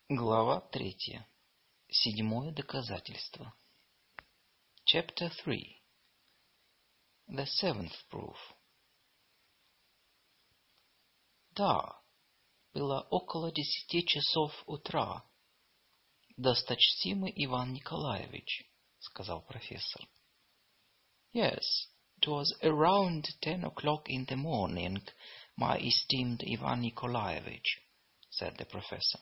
Глава 3. Седьмое доказательство. Chapter 3. The seventh proof. Да, было около 10 часов утра. Досточтимый Иван Николаевич, сказал профессор. Yes, it was around 10 o'clock in the morning, my esteemed Ivan Nikolaevich, said the professor.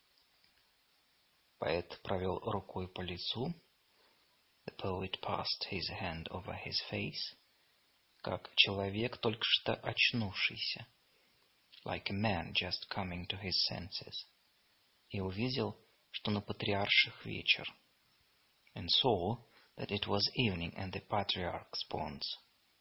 Поэт провел рукой по лицу. The poet passed his hand over his face, как человек, только что очнувшийся, like a man just coming to his senses, и увидел, что на патриарших вечер, and saw that it was evening and the patriarch's ponds.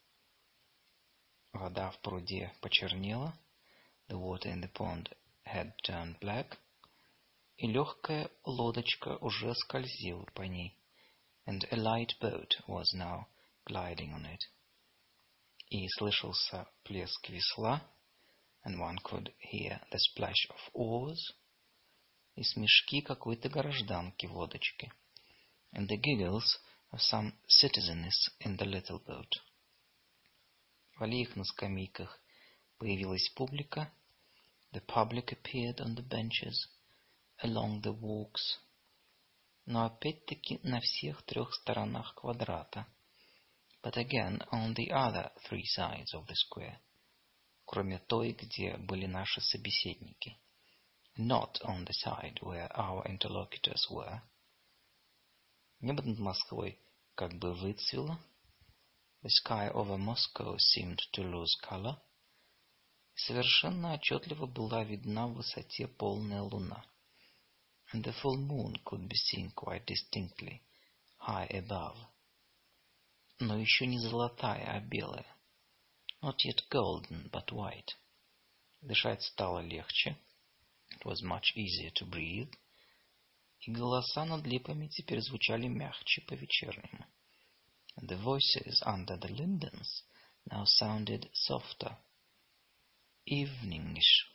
Вода в пруде почернела, the water in the pond had turned black, и легкая лодочка уже скользила по ней, and a light boat was now gliding on it. И слышался плеск весла, and one could hear the splash of oars, и смешки какой-то гражданки в лодочке, and the giggles of some citizeness in the little boat. В аллеях на скамейках появилась публика, the public appeared on the benches, along the walks, но опять-таки на всех трех сторонах квадрата, but again on the other three sides of the square, кроме той, где были наши собеседники, not on the side where our interlocutors were. Небо над Москвой как бы выцвело, the sky over Moscow seemed to lose color, и совершенно отчетливо была видна в высоте полная луна, and the full moon could be seen quite distinctly, high above. Но еще не золотая, а белая. Not yet golden, but white. Дышать стало легче. It was much easier to breathe. И голоса над липами теперь звучали мягче по-вечернему. And the voices under the lindens now sounded softer, eveningish.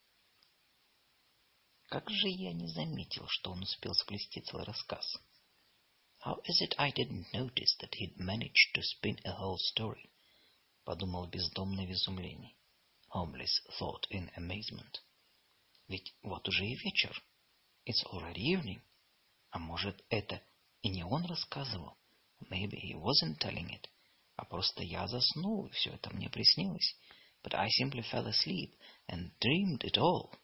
Как же я не заметил, что он успел сплести целый рассказ? How is it I didn't notice that he'd managed to spin a whole story? Подумал бездомный в изумлении. Homeless thought in amazement. Ведь вот уже и вечер. It's already evening. А может, это и не он рассказывал? Maybe he wasn't telling it. А просто я заснул, и все это мне приснилось. But I simply fell asleep and dreamed it all.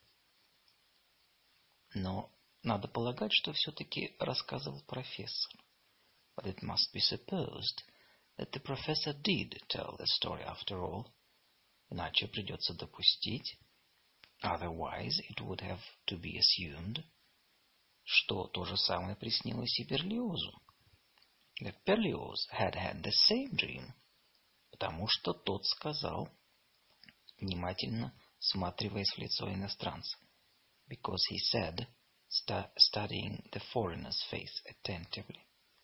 Но надо полагать, что все-таки рассказывал профессор. But it must be supposed that the professor did tell the story after all. Иначе придется допустить, otherwise it would have to be assumed, что то же самое приснилось и Берлиозу. That Berlioz had had the same dream, потому что тот сказал, внимательно всматриваясь в лицо иностранца, because he said, studying the foreigner's face attentively.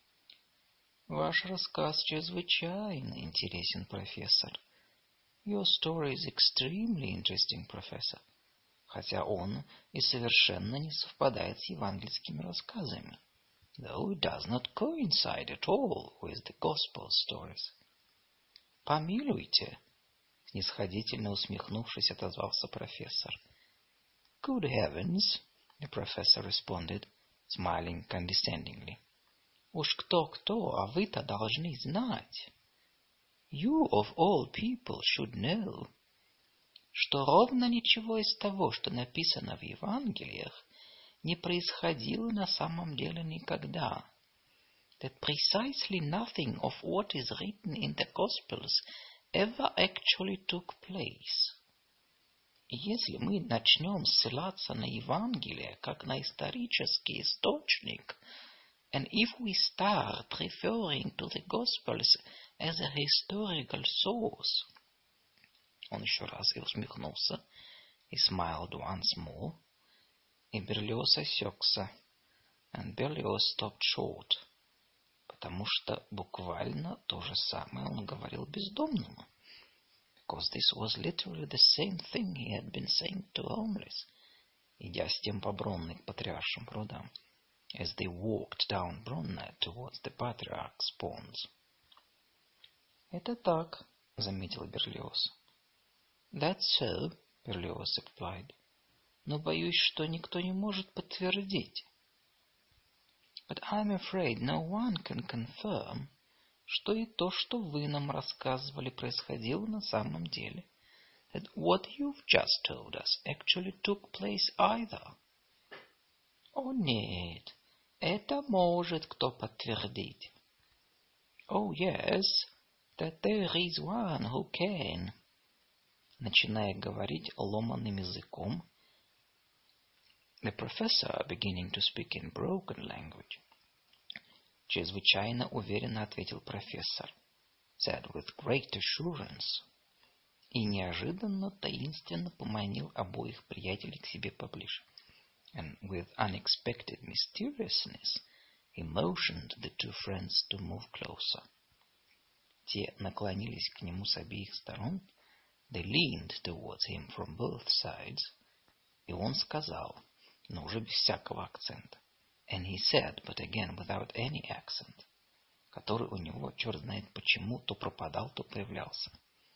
Ваш рассказ чрезвычайно интересен, профессор. Your story is extremely interesting, professor. Хотя он и совершенно не совпадает с евангельскими рассказами. Though it does not coincide at all with the gospel stories. Помилуйте, снисходительно усмехнувшись, отозвался профессор. Good heavens, the professor responded, smiling condescendingly. Уж кто-кто, а вы-то должны знать. You of all people should know, что ровно ничего из того, что написано в Евангелиях, не происходило на самом деле никогда. That precisely nothing of what is written in the Gospels ever actually took place. Если мы начнем ссылаться на Евангелие как на исторический источник, and if we start referring to the Gospels as a historical source, он еще раз и усмехнулся, и smiled once more, и Берлиоз осекся, and Berlioz stopped short, потому что буквально то же самое он говорил бездомному. Because this was literally the same thing he had been saying to homeless. идя с тем по Бронной к Патриаршим прудам, as they walked down Bronner towards the Patriarch's ponds. «Это так», — заметил Берлиоз. «That's so», — Берлиоз replied. «Но боюсь, что никто не может подтвердить». «But I'm afraid no one can confirm», что и то, что вы нам рассказывали, происходило на самом деле. That what you've just told us actually took place either. О нет, это может кто подтвердить. Oh yes, that there is one who can. Начиная говорить ломаным языком, the professor, beginning to speak in broken language, чрезвычайно уверенно ответил профессор, said with great assurance, и неожиданно таинственно поманил обоих приятелей к себе поближе. And with unexpected mysteriousness, he motioned the two friends to move closer. Те наклонились к нему с обеих сторон, they leaned towards him from both sides, и он сказал, но уже без всякого акцента, and he said, but again without any accent, который у него, черт знает почему, то пропадал, то появлялся.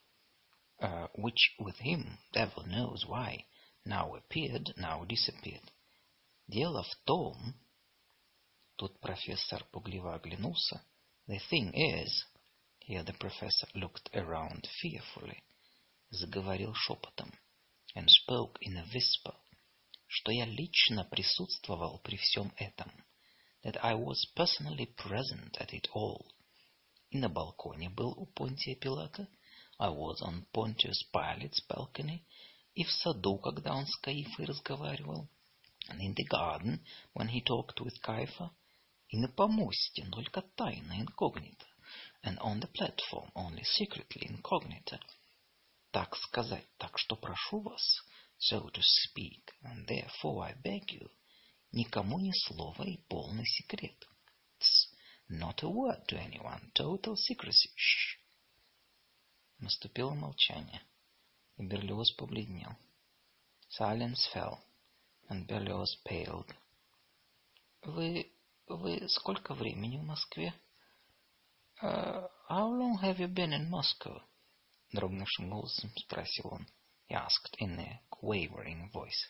Which with him, devil knows why, now appeared, now disappeared. Дело в том, тут профессор пугливо оглянулся, the thing is, here the professor looked around fearfully, заговорил шепотом, and spoke in a whisper, что я лично присутствовал при всем этом, that I was personally present at it all. И на балконе был у Понтия Пилата, I was on Pontius Pilate's balcony, и в саду, когда он с Каифой разговаривал, and in the garden, when he talked with Caiaphas, и на помосте, но только тайно, incognito, and on the platform, only secretly, incognito. Так сказать, так что прошу вас, so to speak, and therefore I beg you, никому ни слова и полный секрет. Not a word to anyone, total secrecy. Shh. Наступило молчание, и Берлиоз побледнел. Silence fell, and Berlioz paled. Вы сколько времени в Москве? How long have you been in Moscow? Дрогнувшим голосом спросил он. He asked in a quavering voice.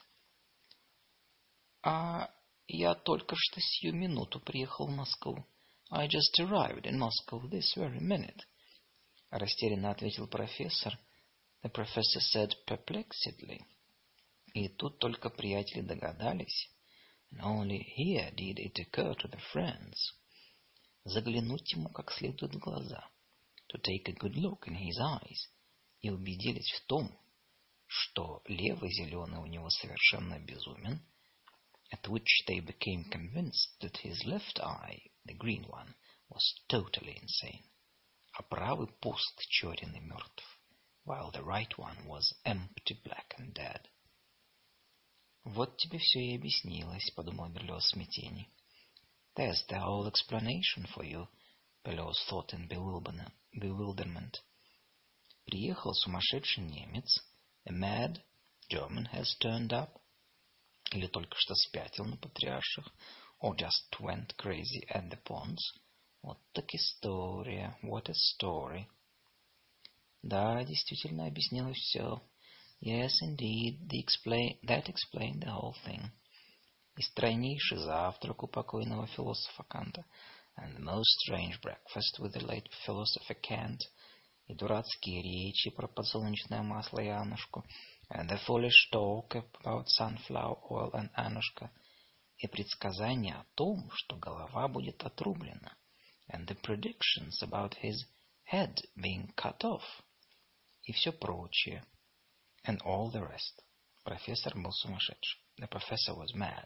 Я только что сию минуту приехал в Москву. I just arrived in Moscow this very minute. Растерянно ответил профессор. The professor said perplexedly. И тут только приятели догадались. And only here did it occur to the friends. Заглянуть ему как следует в глаза. To take a good look in his eyes. И убедились в том, что левый зеленый у него совершенно безумен. At which they became convinced that his left eye, the green one, was totally insane. А правый пуст, черен и мертв. While the right one was empty, black and dead. Вот тебе все и объяснилось, подумал Берлиоз в смятении. There's the whole explanation for you, Berlioz thought in bewilderment. Приехал сумасшедший немец, a mad German has turned up, или только что спятил на Патриарших, or just went crazy at the ponds. Вот так история, what a story. Да, действительно объяснилось все. Yes, indeed, that explained the whole thing. И стройнейший завтрак у покойного философа Канта, and the most strange breakfast with the late philosopher Kant, и дурацкие речи про подсолнечное масло и Аннушку, and the foolish talk about sunflower oil and Annushka, и предсказания о том, что голова будет отрублена, and the predictions about his head being cut off, и все прочее, and all the rest. Профессор был сумасшедший. The professor was mad.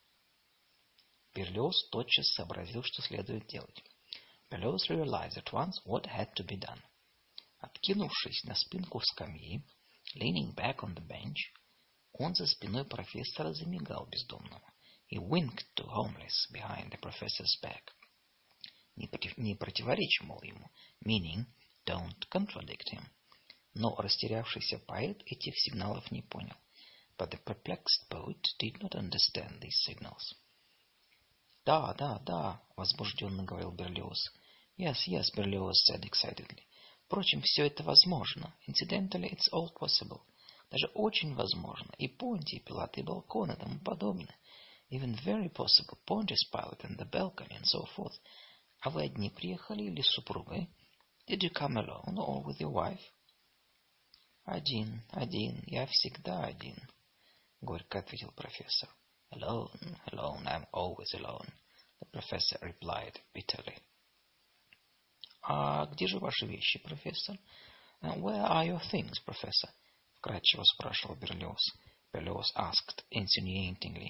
Берлиоз тотчас сообразил, что следует делать. Berlioz realized at once what had to be done. Откинувшись на спинку скамьи, leaning back on the bench, он за спиной профессора замигал бездомному. He winked to homeless behind the professor's back. Не противоречь, мол, ему, meaning, don't contradict him. Но растерявшийся поэт этих сигналов не понял. But the perplexed poet did not understand these signals. «Да, да, да», — возбужденно говорил Берлиоз. «Yes, yes», — Берлиоз said excitedly. «Впрочем, все это возможно. Incidentally, it's all possible. Даже очень возможно. И Понти, и Пилат, и балкон, и тому подобное. Even very possible. Pontius Pilate and the balcony, and so forth. А вы одни приехали или с супругой? Did you come alone or with your wife?» «Один, один. Я всегда один», — горько ответил профессор. «Alone, alone. I'm always alone», — the professor replied bitterly. «А где же ваши вещи, профессор?» «Where are your things, professor?» — вкратчиво спрашивал Берлиоз. Берлиоз asked insinuatingly.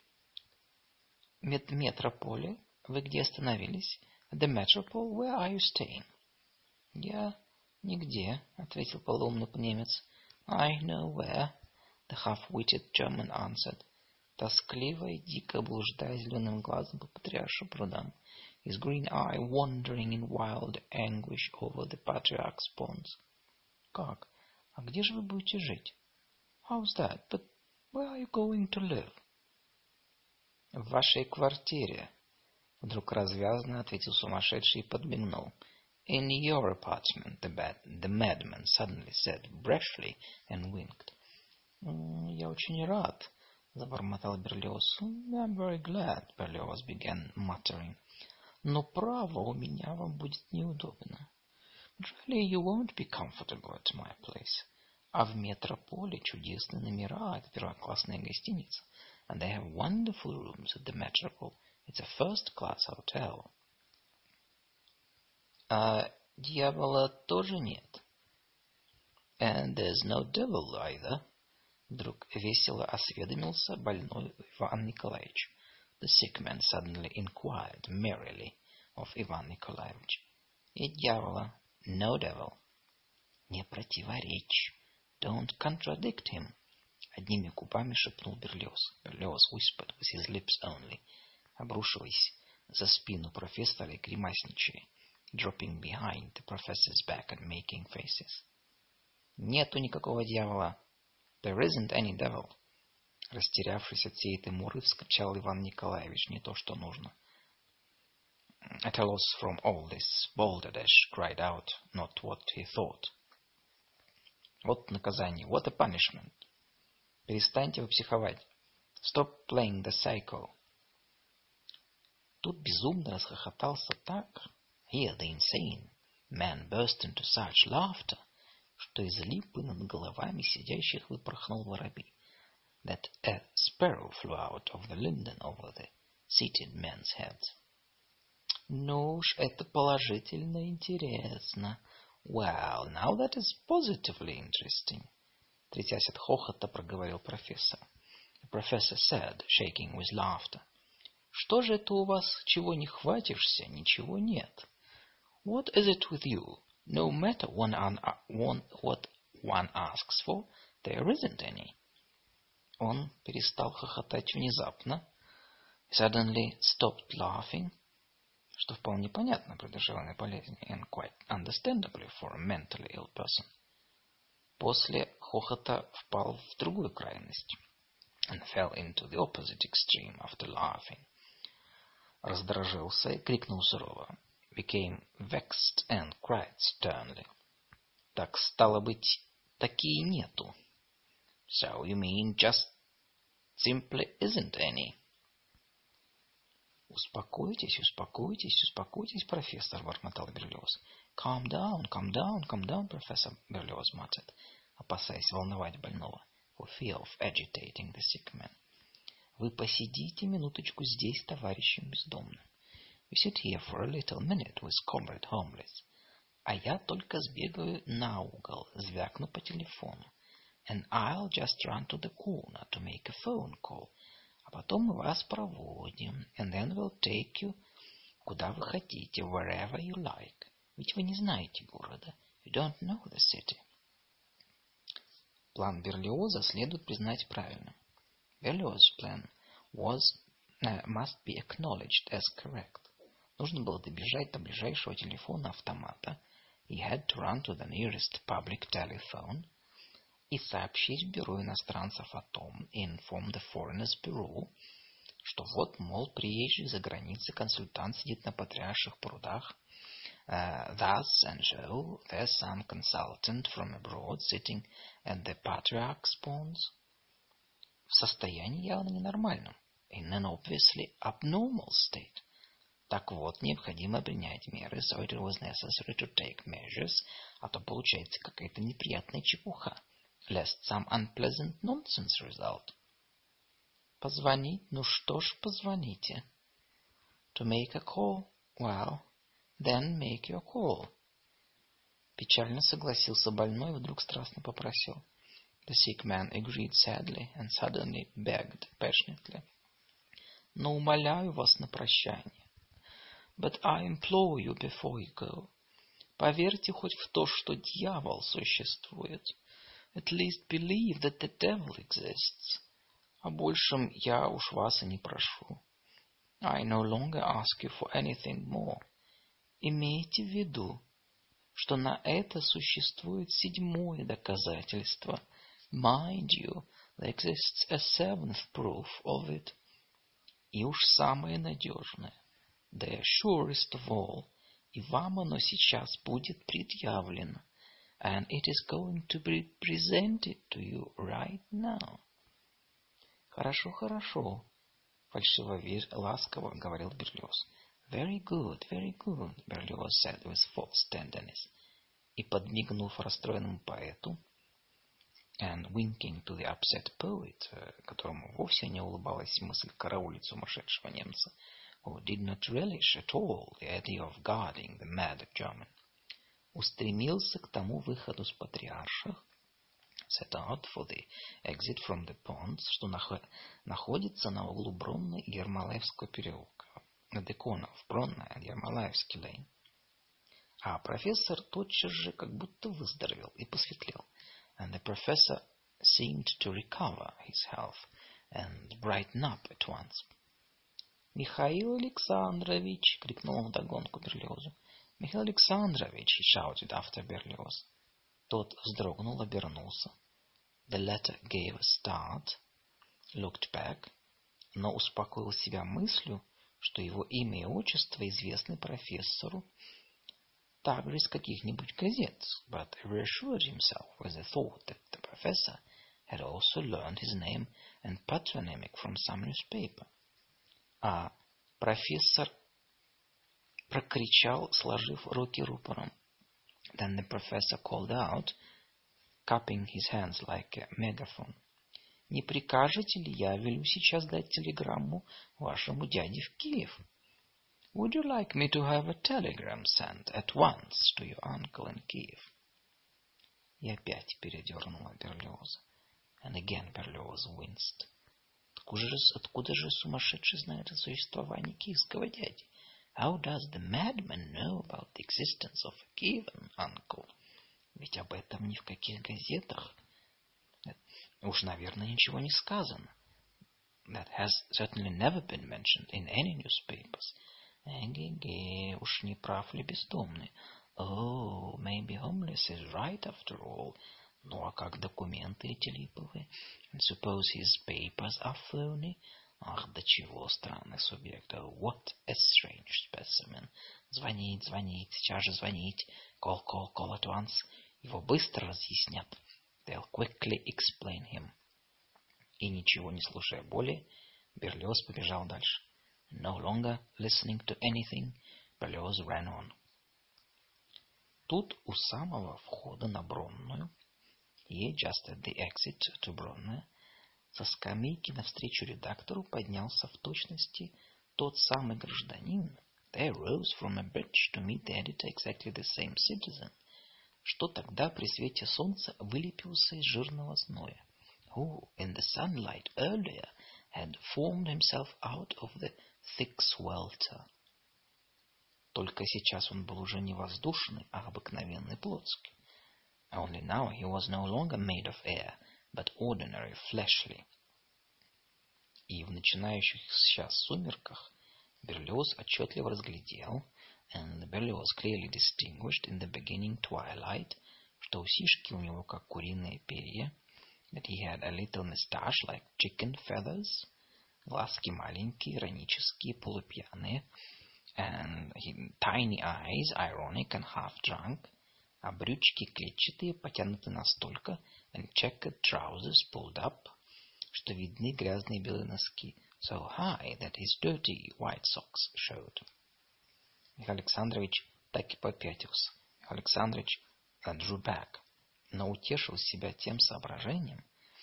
«Метрополе? Вы где остановились?» «The Metropole? Where are you staying?» «Я нигде», — ответил полуумный немец. «I know where», — the half-witted German answered. Тоскливо и дико блуждая зеленым глазом по патриаршим прудам, his green eye wandering in wild anguish over the patriarch's ponds. «Как? А где же вы будете жить?» «How's that? But where are you going to live?» «В вашей квартире», — вдруг развязно ответил сумасшедший и подмигнул. «In your apartment», the madman suddenly said brashly and winked. «Я очень рад», — забормотал Берлиоз. «I'm very glad», — Берлиоз began muttering. «Но право, у меня вам будет неудобно. Really, you won't be comfortable at my place. А в Метрополе чудесные номера, это первоклассная гостиница. And they have wonderful rooms at the Metropole. It's a first-class hotel». «А дьявола тоже нет?» «And there's no devil either», — вдруг весело осведомился больной Иван Николаевич. The sick man suddenly inquired merrily of Ivan Nikolaevich. «И дьявола? No devil». «Не противоречь. Don't contradict him», — одними губами шепнул Берлиоз. Берлиоз whispered with his lips only, обрушиваясь за спину профессора и гримасничая, dropping behind the professor's back and making faces. «Нету никакого дьявола. There isn't any devil». Растерявшись от всей этой муры, вскричал Иван Николаевич, не то что нужно. At a loss from all this, Balderdash cried out not what he thought. «Вот наказание, what a punishment! Перестаньте вы психовать. Stop playing the psycho». Тут безумно расхохотался так. Here the insane man burst into such laughter, что из липы над головами сидящих выпорхнул воробей. That a sparrow flew out of the linden over the seated men's heads. «Ну уж, это положительно интересно. Well, now that is positively interesting», — трясясь от хохота, проговорил профессор. The professor said, shaking with laughter. «Что же это у вас, чего не хватишься, ничего нет? What is it with you? No matter what one asks for, there isn't any». Он перестал хохотать внезапно. Suddenly stopped laughing, что вполне понятно при душевной болезни, and quite understandably for a mentally ill person. После хохота впал в другую крайность, and fell into the opposite extreme after laughing. Раздражился и крикнул сурово, became vexed and cried sternly. «Так, стало быть, такие нету». «So you mean just simply isn't any?» «Успокойтесь, успокойтесь, успокойтесь, профессор», — бормотал Берлиоз. «Calm down, calm down, calm down, professor», — Берлиоз muttered, опасаясь волновать больного, for fear of agitating the sick man. «Вы посидите минуточку здесь с товарищем бездомным. You sit here for a little minute with comrade homeless. А я только сбегаю на угол, звякну по телефону. And I'll just run to the corner to make a phone call. А потом мы вас проводим, and then we'll take you куда вы хотите, wherever you like. Ведь вы не знаете города. You don't know the city». План Берлиоза следует признать правильным. Berlioz's plan must be acknowledged as correct. Нужно было добежать до ближайшего телефона-автомата. He had to run to the nearest public telephone. и сообщить в бюро иностранцев о том, inform the Foreigners Bureau, что вот, мол, приезжий за границей консультант сидит на Патриарших прудах. Thus and so, there's some consultant from abroad sitting at the Patriarch's Ponds. В состоянии явно ненормальном. In an obviously abnormal state. Так вот, необходимо принять меры, so it was necessary to take measures, а то получается какая-то неприятная чепуха. Lest some unpleasant nonsense result. Позвонить? Ну что ж, позвоните. To make a call? Well, then make your call. Печально согласился больной и вдруг страстно попросил. The sick man agreed sadly and suddenly begged passionately. Но умоляю вас на прощание. But I implore you before you go. Поверьте хоть в то, что дьявол существует. At least believe that the devil exists. О большем я уж вас и не прошу. I no longer ask you for anything more. Имейте в виду, что на это существует седьмое доказательство. Mind you, there exists a seventh proof of it. И уж самое надежное. The surest of all. И вам оно сейчас будет предъявлено. And it is going to be presented to you right now. Хорошо, хорошо, фальшиво ласково говорил Берлиоз. Very good, Берлиоз said with false tenderness. И подмигнув расстроенному поэту, and winking to the upset poet, которому вовсе не улыбалась мысль караулить сумасшедшего немца, who did not relish at all the idea of guarding the mad German, устремился к тому выходу с Патриарших, set out for the exit from the ponds, что находится на углу Бронной и Ермолаевского переулка, at the corner of Bronna and Ермолаевский lane. А профессор тотчас же как будто выздоровел и посветлел. And the professor seemed to recover his health and brighten up at once. «Михаил Александрович!» — крикнул он вдогонку Берлиозу. «Михаил Александрович!» — he shouted after Berlioz. Тот вздрогнул, обернулся. The latter gave a start, looked back, но успокоил себя мыслью, что его имя и отчество известны профессору также из каких-нибудь газет, but reassured himself with the thought that the professor had also learned his name and patronymic from some newspaper. А профессор прокричал, сложив руки рупором. Then the professor called out, cupping his hands like a megaphone. Не прикажете ли, я велю сейчас дать телеграмму вашему дяде в Киев? Would you like me to have a telegram sent at once to your uncle in Kiev? И опять передернула Берлиоза. And again Berlioz winced. Откуда же сумасшедший знает о существовании киевского дяди? How does the madman know about the existence of a Kievan uncle? Ведь об этом ни в каких газетах. Уж, наверное, ничего не сказано. That has certainly never been mentioned in any newspapers. Эге-ге, уж не прав ли бездомный? Oh, maybe homeless is right after all. Ну, а как документы эти липовые? And suppose his papers are phony? Ах, до чего странный субъект. Oh, what a strange specimen. Звонить, сейчас же звонить. Call at once. Его быстро разъяснят. They'll quickly explain him. И ничего не слушая более, Берлиоз побежал дальше. No longer listening to anything, Berlioz ran on. Тут у самого входа на Бронную, just at the exit to Bronne, со скамейки навстречу редактору поднялся в точности тот самый гражданин. There rose from a bridge to meet the editor exactly the same citizen, что тогда при свете солнца вылепился из жирного зноя. Who, in the sunlight earlier, had formed himself out of the thick swelter. Только сейчас он был уже не воздушный, а обыкновенный плотский. Only now he was no longer made of air, but ordinary fleshly. И в начинающих сейчас сумерках Берлиоз отчетливо разглядел, and Berlioz clearly distinguished in the beginning twilight, что усишки у него как куриные перья, that he had a little mustache like chicken feathers, глазки маленькие, иронические, полупьяные, and tiny eyes, ironic and half drunk, а брючки клетчатые, потянуты настолько, and checkered trousers pulled up, что видны грязные белые носки, so high that his dirty white socks showed. Михаил Александрович так и попятился. Михаил Александрович drew back, но утешил себя тем соображением,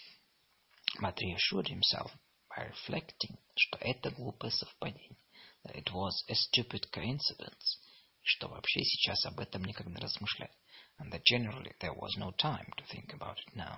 but reassured himself by reflecting, что это глупое совпадение, that it was a stupid coincidence, и что вообще сейчас об этом никогда не размышлять, and that generally there was no time to think about it now.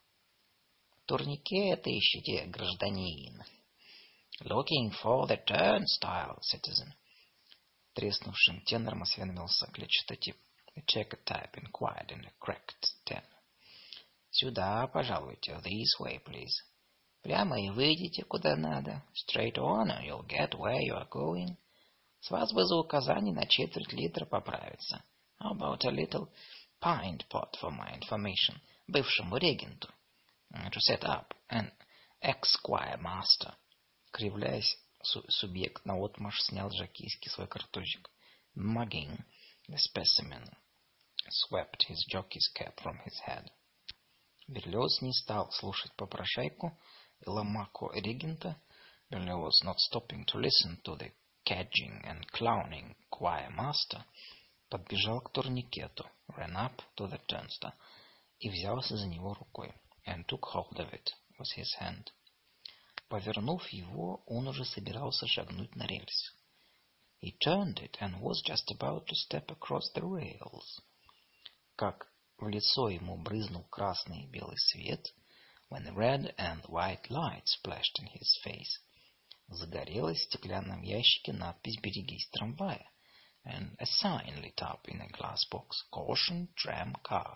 Турникет ищете, гражданин? Looking for the turnstile, citizen. Треснувшим тенором осведомился клетчатый тип. The checkered type inquired in a cracked tenor. Сюда, пожалуйте, this way, please. Прямо и выйдите куда надо. Straight on, and you'll get where you are going. С вас бы за указание на четверть литра поправиться. How about a little pint pot for my information, бывшему регенту? To set up an ex-choir master. Кривляясь, субъект наотмашь снял жокейский свой картузик. Mugging, the specimen swept his jockey's cap from his head. Берлиоз не стал слушать попрошайку и ломаку регента. Berlioz, not stopping to listen to the cadging and clowning choir master, подбежал к турникету, ran up to the turnstile, и взялся за него рукой, and took hold of it with his hand. Повернув его, он уже собирался шагнуть на рельсы. He turned it and was just about to step across the rails. Как в лицо ему брызнул красный и белый свет, when the red and white light splashed in his face, загорелась в стеклянном ящике надпись «Берегись трамвая», and a sign lit up in a glass box, «Caution, tram car».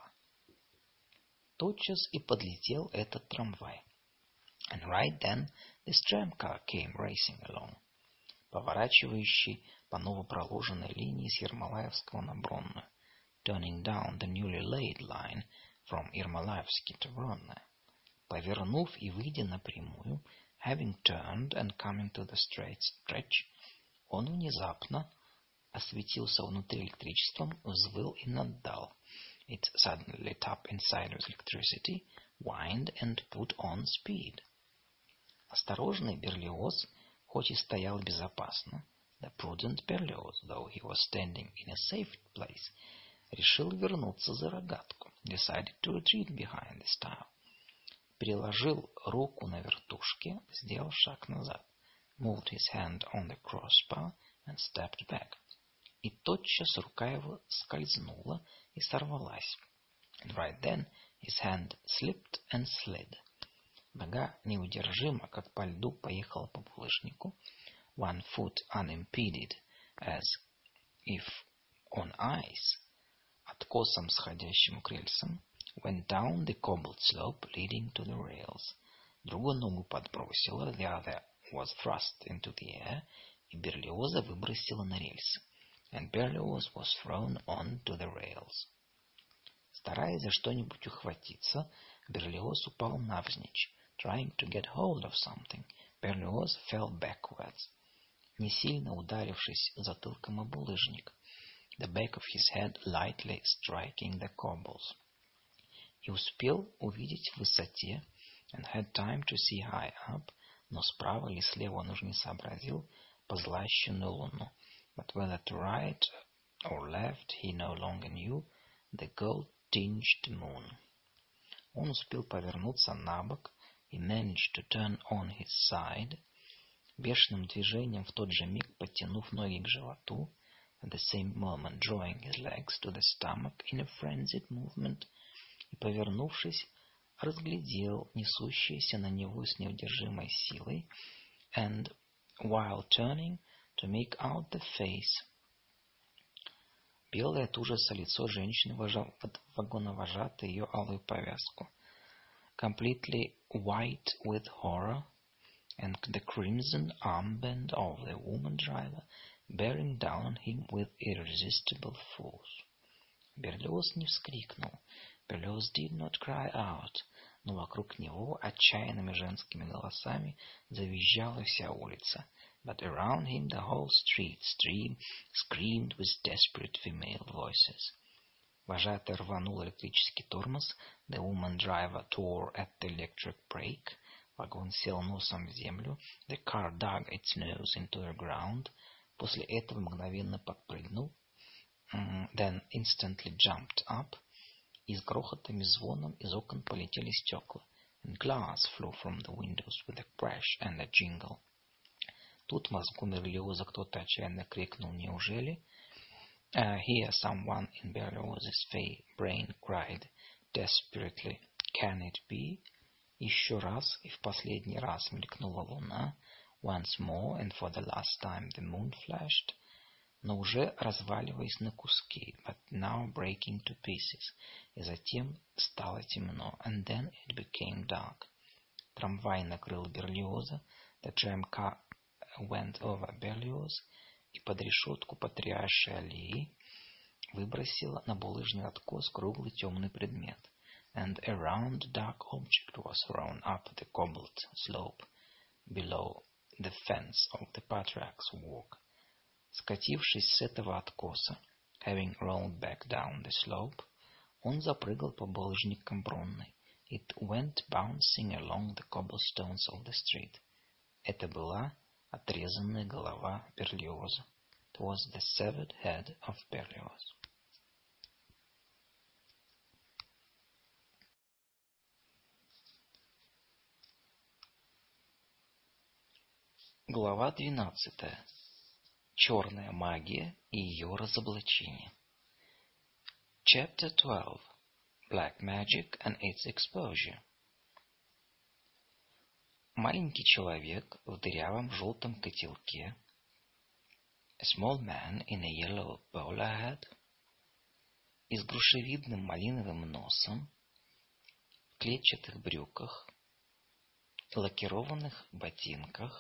Тотчас и подлетел этот трамвай. And right then this tramcar came racing along, поворачивающий по новопроложенной линии с Ермолаевского на Бронную, turning down the newly laid line from Ермолаевский to Бронная. Повернув и выйдя напрямую, having turned and coming to the straight stretch, он внезапно осветился внутри электричеством, взвыл и наддал. It suddenly lit up inside with electricity, whined and put on speed. Осторожный Берлиоз, хоть и стоял безопасно, the prudent Berlioz, though he was standing in a safe place, решил вернуться за рогатку, decided to retreat behind the stile. Переложил руку на вертушке, сделал шаг назад, moved his hand on the crossbar and stepped back. И тотчас рука его скользнула и сорвалась. And right then his hand slipped and slid. Нога неудержимо, как по льду, поехала по булыжнику. One foot unimpeded, as if on ice, откосом сходящим к рельсам, went down the cobbled slope leading to the rails. Другую ногу подбросила, the other was thrust into the air, и Берлиоза выбросила на рельсы. And Berlioz was thrown on to the rails. Стараясь за что-нибудь ухватиться, Берлиоз упал навзничь. Trying to get hold of something, Berlioz fell backwards, не сильно ударившись затылком о булыжник, the back of his head lightly striking the cobbles. И успел увидеть в высоте, and had time to see high up, но справа или слева он уже не сообразил, позлощенную луну. But whether to right or left he no longer knew, the gold-tinged moon. Он успел повернуться на бок, he managed to turn on his side, бешеным движением в тот же миг подтянув ноги к животу, at the same moment drawing his legs to the stomach in a frenzied movement, и, повернувшись, разглядел несущееся на него с неудержимой силой, and, while turning, to make out the face. Белое от ужаса лицо женщины вагоновожатой ее алую повязку. Completely white with horror, and the crimson armband of the woman driver bearing down on him with irresistible force. Берлиоз не вскрикнул, Berlioz did not cry out, но вокруг него отчаянными женскими голосами завизжала вся улица. But around him the whole street screamed with desperate female voices. Вожатый рванул электрический тормоз. The woman driver tore at the electric brake. Вагон сел носом в землю. The car dug its nose into the ground. После этого мгновенно подпрыгнул. Then instantly jumped up. И с грохотом и звоном из окон полетели стекла. And glass flew from the windows with a crash and a jingle. Тут в мозгу Берлиоза кто-то отчаянно крикнул «Неужели?». Here someone in Berlioz's brain cried desperately «Can it be?». Еще раз и в последний раз мелькнула луна. Once more and for the last time the moon flashed. Но уже разваливаясь на куски, but now breaking to pieces. И затем стало темно. And then it became dark. Трамвай накрыл Берлиоза. The tramcar went over Berlioz, и под решетку потрясшей аллеи выбросила на булыжный откос круглый темный предмет. And a round dark object was thrown up the cobbled slope below the fence of the Patriarch's walk. Скатившись с этого откоса, having rolled back down the slope, он запрыгал по булыжникам Бронной. It went bouncing along the cobblestones of the street. Это была отрезанная голова Берлиоза. It was the severed head of Berlioz. Глава 12. Черная магия и ее разоблачение. Chapter 12. Black Magic and its Exposure. Маленький человек в дырявом желтом котелке. A small man in a yellow bowler hat. И с грушевидным малиновым носом. В клетчатых брюках. Лакированных ботинках.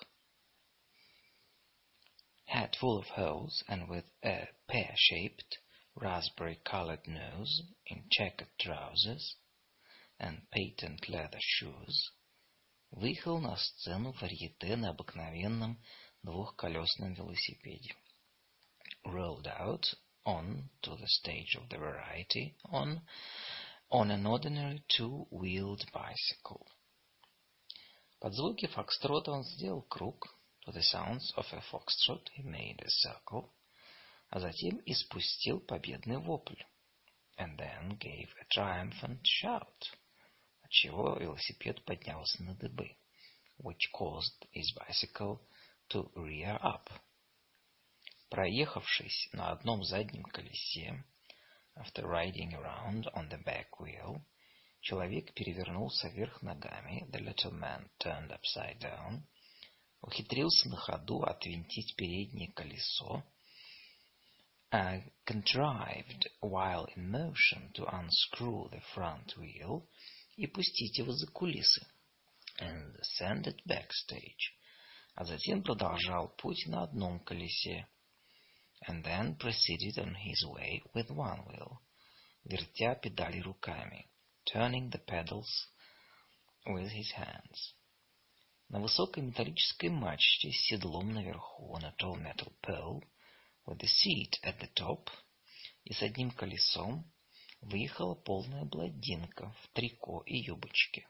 Hat full of holes and with a pear-shaped, raspberry-colored nose in checkered trousers and patent leather shoes, выехал на сцену варьете на обыкновенном двухколесном велосипеде. Rolled out on to the stage of the variety on an ordinary two-wheeled bicycle. Под звуки фокстрота он сделал круг. To the sounds of a foxtrot he made a circle, а затем испустил победный вопль, and then gave a triumphant shout, отчего велосипед поднялся на дыбы, which caused his bicycle to rear up. Проехавшись на одном заднем колесе, after riding around on the back wheel, человек перевернулся вверх ногами, the little man turned upside down, ухитрился на ходу отвинтить переднее колесо, contrived while in motion to unscrew the front wheel и пустить его за кулисы, and send it backstage, а затем продолжал путь на одном колесе, and then proceeded on his way with one wheel, вертя педали руками, turning the pedals with his hands. На высокой металлической мачте с седлом наверху, on a tall metal pole, with the seat at the top, и с одним колесом выехала полная блондинка в трико и юбочке.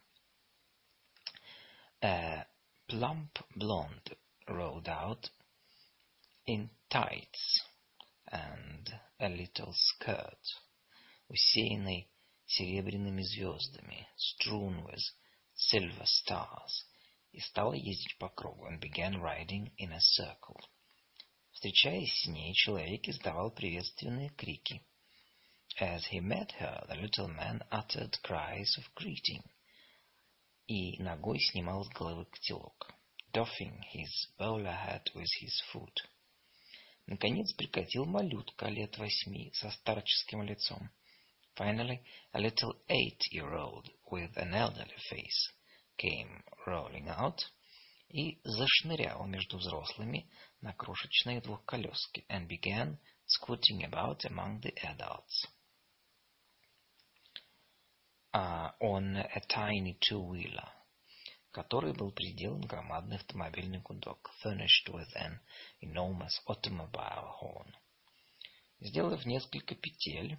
A plump blonde rode out in tights and a little skirt, усеянной серебряными звездами, strewn with silver stars, и стала ездить по кругу, and began riding in a circle. Встречаясь с ней, человек издавал приветственные крики. As he met her, the little man uttered cries of greeting. И ногой снимал с головы котелок, doffing his bowler hat with his foot. Наконец прикатил малютка лет 8 со старческим лицом. Finally, a little 8-year-old with an elderly face came rolling out и зашнырял между взрослыми на крошечной двухколеске, and began scooting about among the adults. on a tiny two-wheeler, который был приделан громадный автомобильный гудок, furnished with an enormous automobile horn. Сделав несколько петель,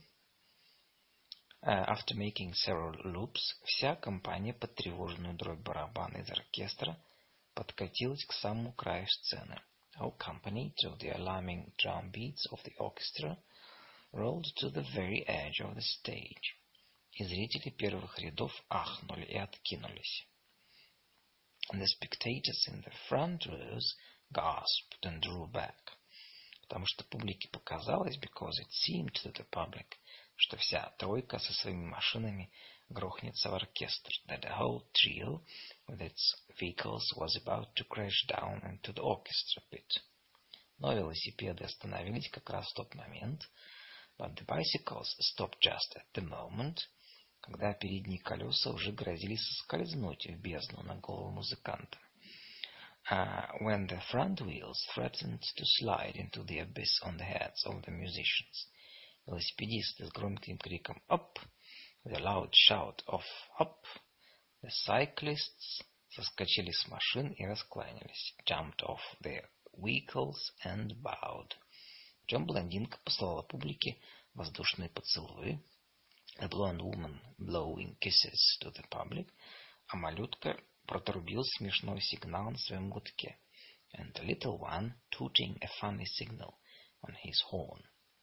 after making several loops, вся компания под тревожную дробь барабана из оркестра подкатилась к самому краю сцены. Our company, to the alarming drum beats of the orchestra, rolled to the very edge of the stage. И зрители первых рядов ахнули и откинулись. And the spectators in the front rows gasped and drew back. Потому что публике показалось, because it seemed to the public, что вся тройка со своими машинами грохнется в оркестр, that the whole trio with its vehicles was about to crash down into the orchestra pit. Но велосипеды остановились как раз в тот момент, but the bicycles stopped just at the moment, когда передние колеса уже грозили соскользнуть в бездну на голову музыканта. When the front wheels threatened to slide into the abyss on the heads of the musicians. Велосипедисты с громким криком «Up!» with a loud shout of «Up!» The cyclists соскочили с машин и раскланялись, jumped off their vehicles and bowed. Причем блондинка послала публике воздушные поцелуи, the blonde woman blowing kisses to the public, а малютка протрубил смешной сигнал на своем гудке, and the little one tooting a funny signal on his horn.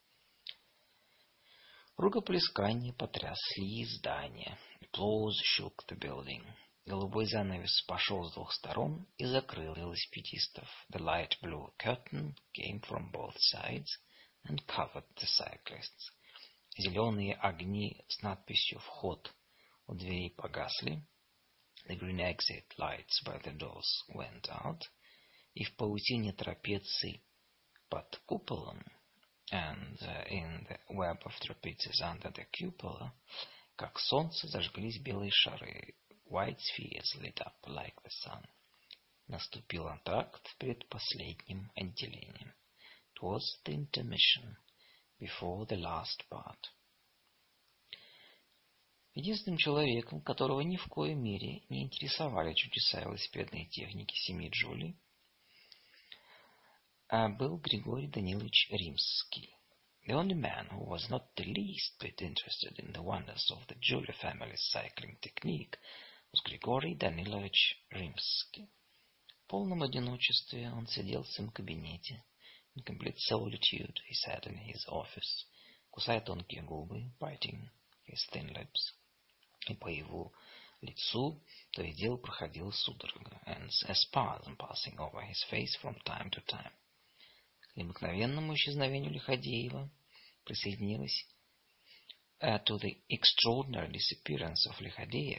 Рукоплескания потрясли здание. Applause shook the building. Голубой занавес пошел с двух сторон и закрыл велосипедистов. The light blue curtain came from both sides and covered the cyclists. Зеленые огни с надписью «Вход» у дверей погасли. The green exit lights by the doors went out. И в паутине трапеций под куполом, and in the web of trapezes under the cupola, как солнце, зажглись белые шары. White spheres lit up like the sun. Наступил антракт перед последним отделением. It was the intermission before the last part. Единственным человеком, которого ни в коей мере не интересовали чудеса велосипедной техники семьи Джули, был Григорий Данилович Римский. The only man who was not the least bit interested in the wonders of the Julia family's cycling technique was Григорий Данилович Римский. В полном одиночестве он сидел в своем кабинете. In complete solitude he sat in his office, кусая тонкие губы, biting his thin lips. И по его лицу то и дело проходила судорога, and a spasm passing over his face from time to time. К необыкновенному исчезновению Лиходеева присоединилась to the extraordinary disappearance of Лиходеев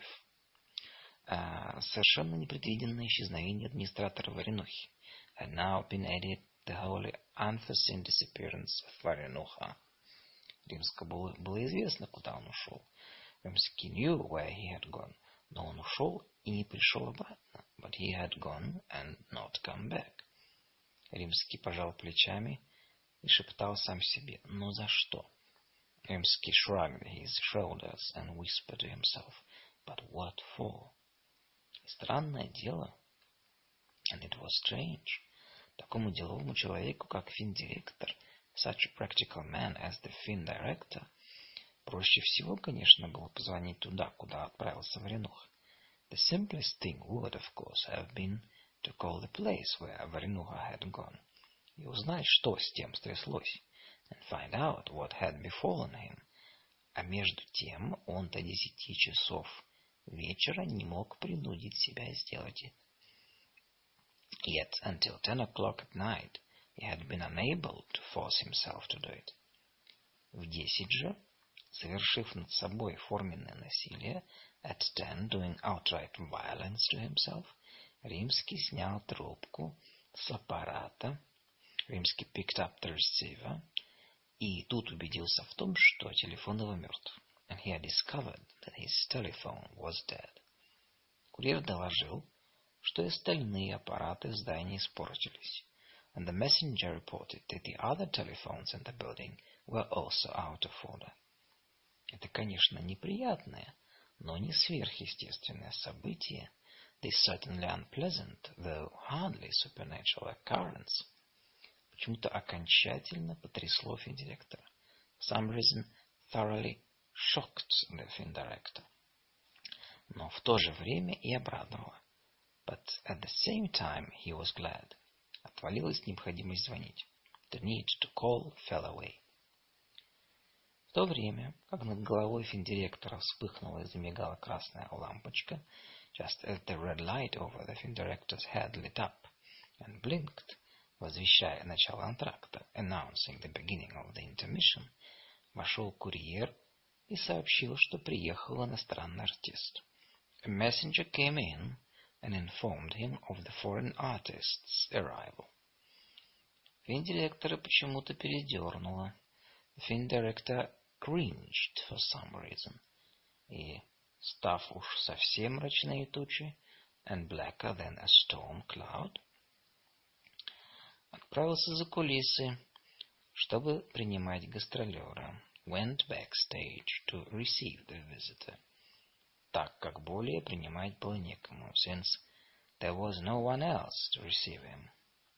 совершенно непредвиденное исчезновение администратора Варенухи. Had now been added the wholly unforeseen disappearance of Варенуха. Римскому было известно, куда он ушел. Римский knew where he had gone, но он ушел и не пришел обратно. But he had gone and not come back. Римский пожал плечами и шептал сам себе: «Но за что?» Римский shrugged his shoulders and whispered to himself, «But what for?» И странное дело, and it was strange, такому деловому человеку, как финдиректор, such a practical man as the fin-director, проще всего, конечно, было позвонить туда, куда отправился Варенуха. The simplest thing would, of course, have been to call the place where Варенуха had gone, и узнать, что с тем стряслось, and find out what had befallen him. А между тем он до 10 часов вечера не мог принудить себя сделать это. Yet until 10 o'clock at night he had been unable to force himself to do it. В 10 же, совершив над собой форменное насилие, at 10 doing outright violence to himself, Римский снял трубку с аппарата, Римский picked up the receiver, и тут убедился в том, что телефон его мертв. And he had discovered that his telephone was dead. Курьер доложил, что и остальные аппараты в здании испортились. And the messenger reported that the other telephones in the building were also out of order. Это, конечно, неприятное, но не сверхъестественное событие, this certainly unpleasant, though hardly supernatural occurrence, почему-то окончательно потрясло финдиректора. For some reason, thoroughly shocked the film director. Но в то же время и обрадовало. But at the same time he was glad. Отвалилась необходимость звонить. The need to call fell away. В то время, как над головой финдиректора вспыхнула и замигала красная лампочка, just as the red light over the финдиректор's head lit up and blinked, возвещая начало антракта, announcing the beginning of the intermission, вошел курьер и сообщил, что приехал иностранный артист. A messenger came in and informed him of the foreign artist's arrival. Финдиректора почему-то передернуло. The film director cringed for some reason. И, став уж совсем мрачнее тучи, and blacker than a storm cloud, отправился за кулисы, чтобы принимать гастролера. Went backstage to receive the visitor. Так как более принимать было некому, since there was no one else to receive him.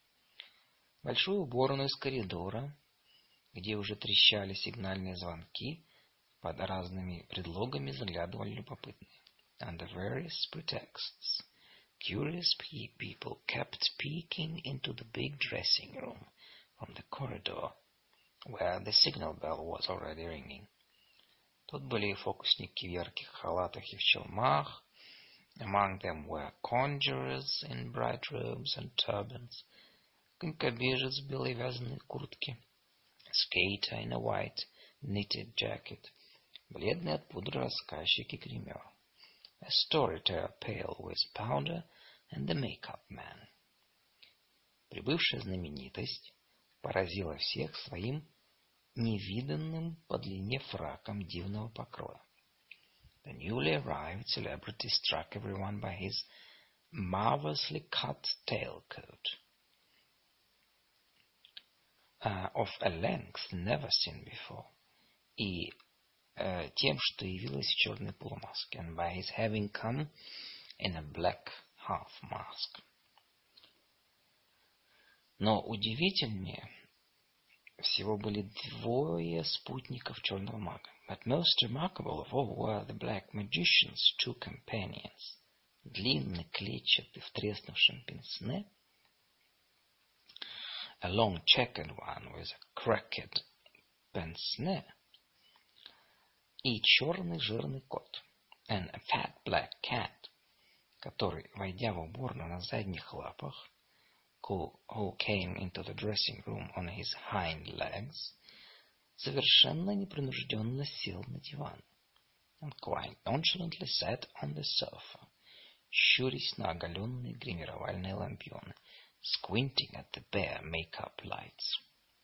Большую уборную из коридора, где уже трещали сигнальные звонки, под разными предлогами заглядывали любопытные. Under various pretexts, curious people kept peeking into the big dressing room from the corridor, where the signal bell was already ringing. Тут были фокусники в ярких халатах и в челмах. Among them were conjurers in bright robes and turbans, конькобежец в белой вязаной куртке, skater in a white knitted jacket, бледный от пудры рассказчик и гример, a storyteller pale with powder, and the make-up man. Прибывшая знаменитость поразила всех своим невиданным по длине фраком дивного покроя. The newly arrived celebrity struck everyone by his marvelously cut tailcoat, of a length never seen before, и тем, что явилась в черной полумаске, and by his having come in a black half mask. Но удивительнее всего были двое спутников черного мага. But most remarkable of all were the black magician's two companions. Длинный, клетчатый, в треснувшем пенсне, a long checkered one with a cracked pince-nez, и черный жирный кот, and a fat black cat, который, войдя в уборную на задних лапах, who came into the dressing room on his hind legs, совершенно непринужденно сел на диван, and quite nonchalantly sat on the sofa, щурясь на оголенные гримировальные лампионы, squinting at the bare make-up lights.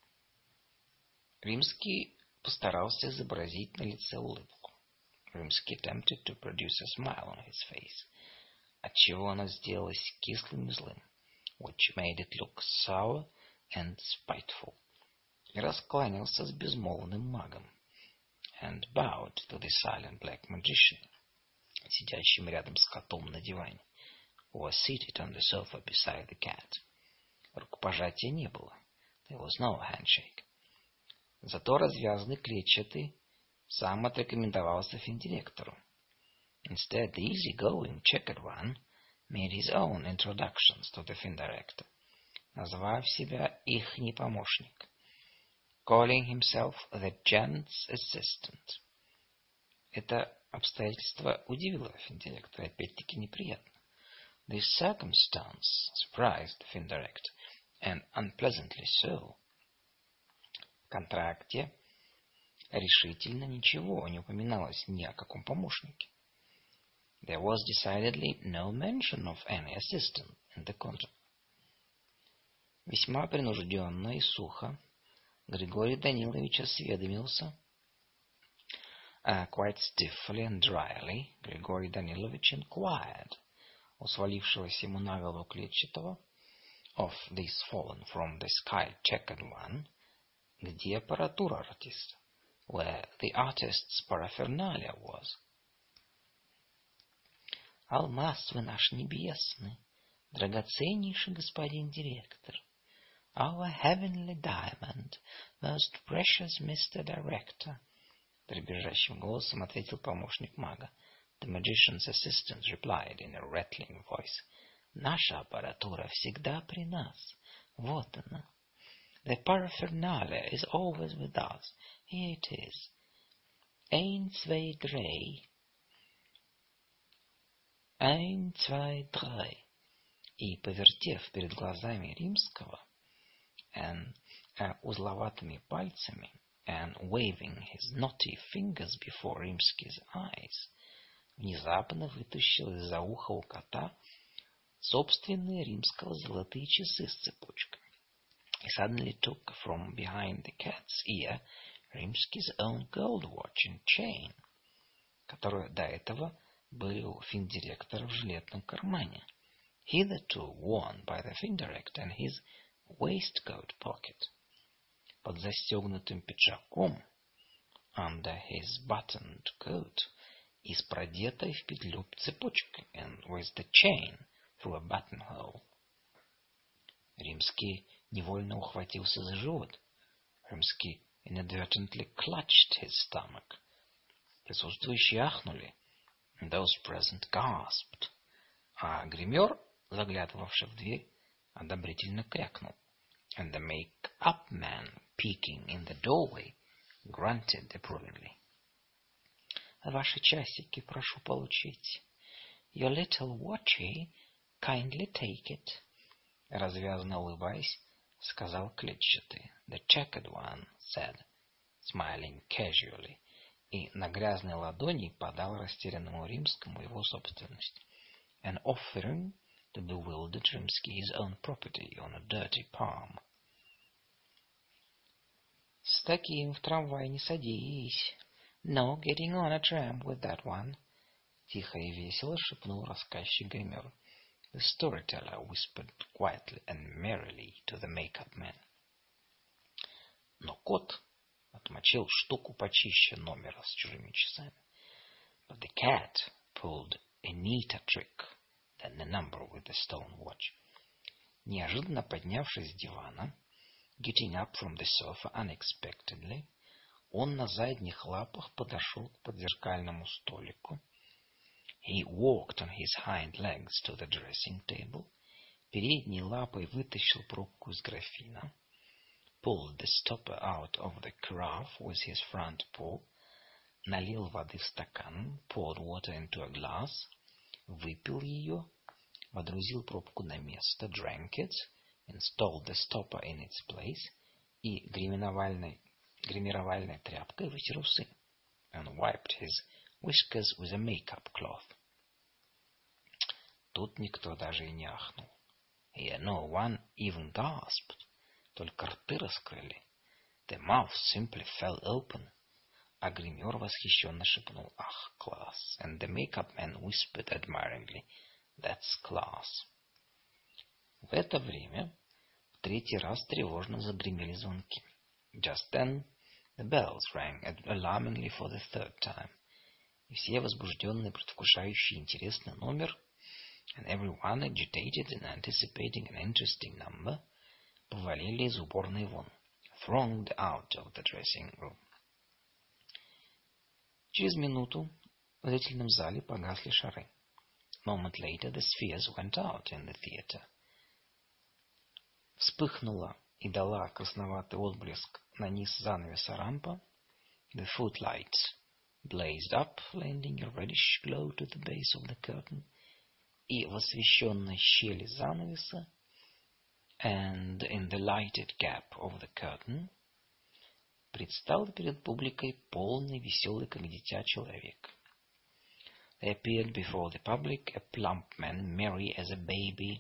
Римский постарался изобразить на лице улыбку. Римский attempted to produce a smile on his face, отчего она сделалась кислым и злым, which made it look sour and spiteful, и раскланялся с безмолвным магом, and bowed to the silent black magician, сидящим рядом с котом на диване, who was seated on the sofa beside the cat. Рукопожатия не было. There was no handshake. Зато развязанный клетчатый сам отрекомендовался финдиректору. Instead, the easy-going checkered one made his own introductions to the film director, назвав себя ихний помощник, calling himself the gent's assistant. Это обстоятельство удивило film director, опять-таки неприятно. This circumstance surprised the film director, and unpleasantly so. В контракте решительно ничего не упоминалось ни о каком помощнике. There was decidedly no mention of any assistant in the contract. Весьма принужденно и сухо Григорий Данилович осведомился. Quite stiffly and dryly Григорий Данилович inquired у свалившегося ему на голову клетчатого, of this fallen from the sky checkered one, где аппаратура артиста, where the artist's paraphernalia was. Алмаз вы наш небесный, драгоценнейший господин директор. Our heavenly diamond, most precious Mr. Director. Дребезжащим голосом ответил помощник мага. The magician's assistant replied in a rattling voice. Наша аппаратура всегда при нас. Вот она. The paraphernalia is always with us. Here it is. 1, 2, 3. 1, 2, 3. И, повертев перед глазами Римского, узловатыми пальцами, and waving his knotty fingers before Rimsky's eyes, внезапно вытащил из-за уха у кота собственные Римского золотые часы с цепочками. He suddenly took from behind the cat's ear Rimsky's own gold watch and chain, которые до этого были у финдиректора в жилетном кармане, hitherto worn by the findirect in his waistcoat pocket. Под застегнутым пиджаком, under his buttoned coat, и с продетой в петлю цепочкой, and with the chain through a buttonhole. Римский невольно ухватился за живот. Римский inadvertently clutched his stomach. Присутствующие ахнули. Those present gasped. А гример, заглядывавший в дверь, одобрительно крякнул. And the make-up man, peeking in the doorway, grunted approvingly. Ваши часики прошу получить. Your little watchy, kindly take it. Развязно улыбаясь, сказал клетчатый. The checkered one said, smiling casually, и на грязной ладони подал растерянному Римскому его собственность. And offering the bewildered Rimsky his own property on a dirty palm. С таким в трамвай не садись. No getting on a tram with that one. Тихо и весело шепнул рассказчик-гример. The storyteller whispered quietly and merrily to the make-up man. Но кот отмочил штуку почище номера с чужими часами. But the cat pulled a neater trick than the number with the stone watch. Неожиданно поднявшись с дивана, getting up from the sofa unexpectedly, он на задних лапах подошел к подзеркальному столику. He walked on his hind legs to the dressing table, передней лапой вытащил пробку из графина, pulled the stopper out of the carafe with his front paw, налил воды в стакан, poured water into a glass, выпил ее, водрузил пробку на место, drank it, installed the stopper in its place и гримировальной тряпкой вытер усы, and wiped his whiskers with a make-up cloth. Тут никто даже и не ахнул. Here no one even gasped. Только рты раскрыли. The mouth simply fell open. А гример восхищенно шепнул: «Ах, класс!» And the make-up man whispered admiringly: «That's class!» В это время в третий раз тревожно загремели звонки. Just then the bells rang alarmingly for the third time. И все возбужденные, предвкушающие интересный номер, and everyone agitated and anticipating an interesting number, повалили из уборной вон, thronged out of the dressing room. Через минуту в зрительном зале погасли шары. A moment later the spheres went out in the theater. Вспыхнула и дала красноватый отблеск на низ занавеса рампа. The footlights blazed up, lending a reddish glow to the base of the curtain. И в освещенной щели занавеса, and in the lighted gap of the curtain, предстал перед публикой полный, веселый, как дитя, человек. There appeared before the public a plump man, merry as a baby,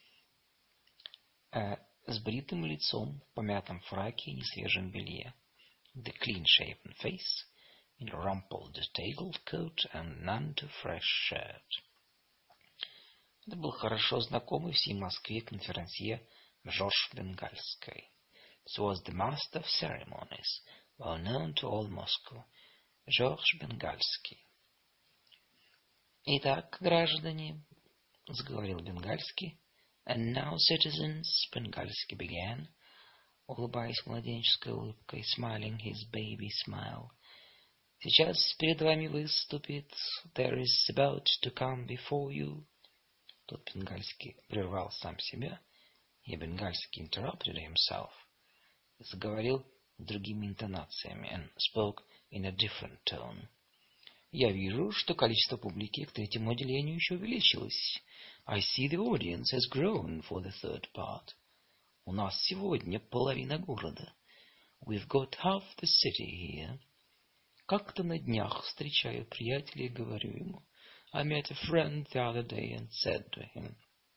с бритым лицом, в помятом фраке и несвежем белье, with a clean-shaven face, in a rumpled tailcoat and none too fresh shirt. Это был хорошо знакомый всей Москве конферансье Жорж Бенгальский. This was the master of ceremonies, well known to all Moscow, George Bengalsky. «Итак, граждане», — заговорил Бенгальский, «and now, citizens», — Бенгальский began, улыбаясь младенческой улыбкой, smiling his baby smile. «Сейчас перед вами выступит, there is about to come before you». Тут Бенгальский прервал сам себя, и Бенгальский interrupted himself, и заговорил другими интонациями, and spoke in a different tone. «Я вижу, что количество публики к третьему отделению еще увеличилось. I see the audience has grown for the third part. У нас сегодня половина города. We've got half the city here. Как-то на днях встречаю приятеля и говорю ему, I met a friend the other day and said to him,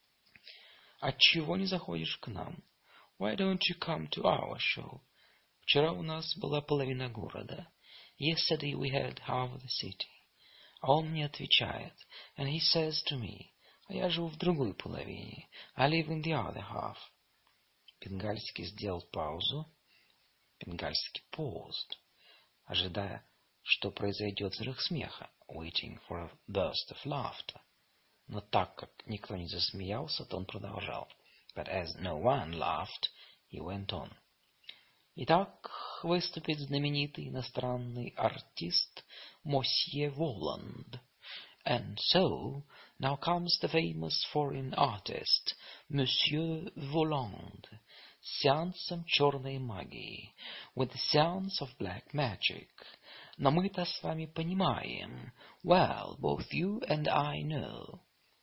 отчего не заходишь к нам? Why don't you come to our show? Вчера у нас была половина города. Yesterday we had half the city. А он мне отвечает, and he says to me, а я живу в другой половине. I live in the other half. Бенгальский сделал паузу. Бенгальский paused, ожидая, что произойдет взрыв смеха, waiting for a burst of laughter. Но так как никто не засмеялся, то он продолжал. But as no one laughed, he went on. Итак, выступит знаменитый иностранный артист Мосье Воланд. And so, now comes the famous foreign artist, Monsieur Voland, с сеансом черной магии, with the seance of black magic. Но мы-то с вами понимаем. Well, both you and I know.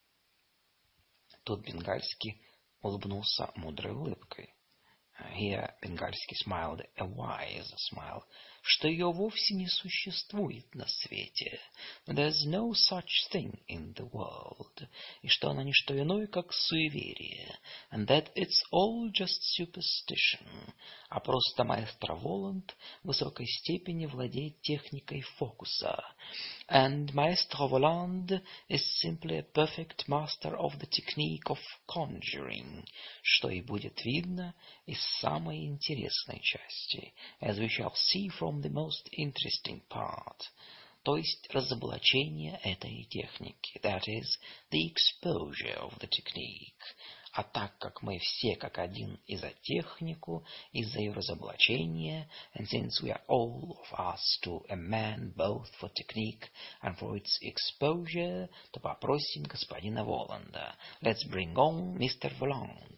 Тут Бенгальский улыбнулся мудрой улыбкой. Here Бенгальский smiled a wise smile, что ее вовсе не существует на свете. There's no such thing in the world. И что она не что иное, как суеверие. And that it's all just superstition. А просто маэстро Воланд в высокой степени владеет техникой фокуса. And Maestro Voland is simply a perfect master of the technique of conjuring, что и будет видно из самой интересной части, as we shall see from the most interesting part, то есть разоблачение этой техники, that is, the exposure of the technique. А так как мы все как один и за технику, и за ее разоблачение, and since we are all of us to a man both for technique and for its exposure, то попросим господина Воланда. Let's bring on Mr. Voland.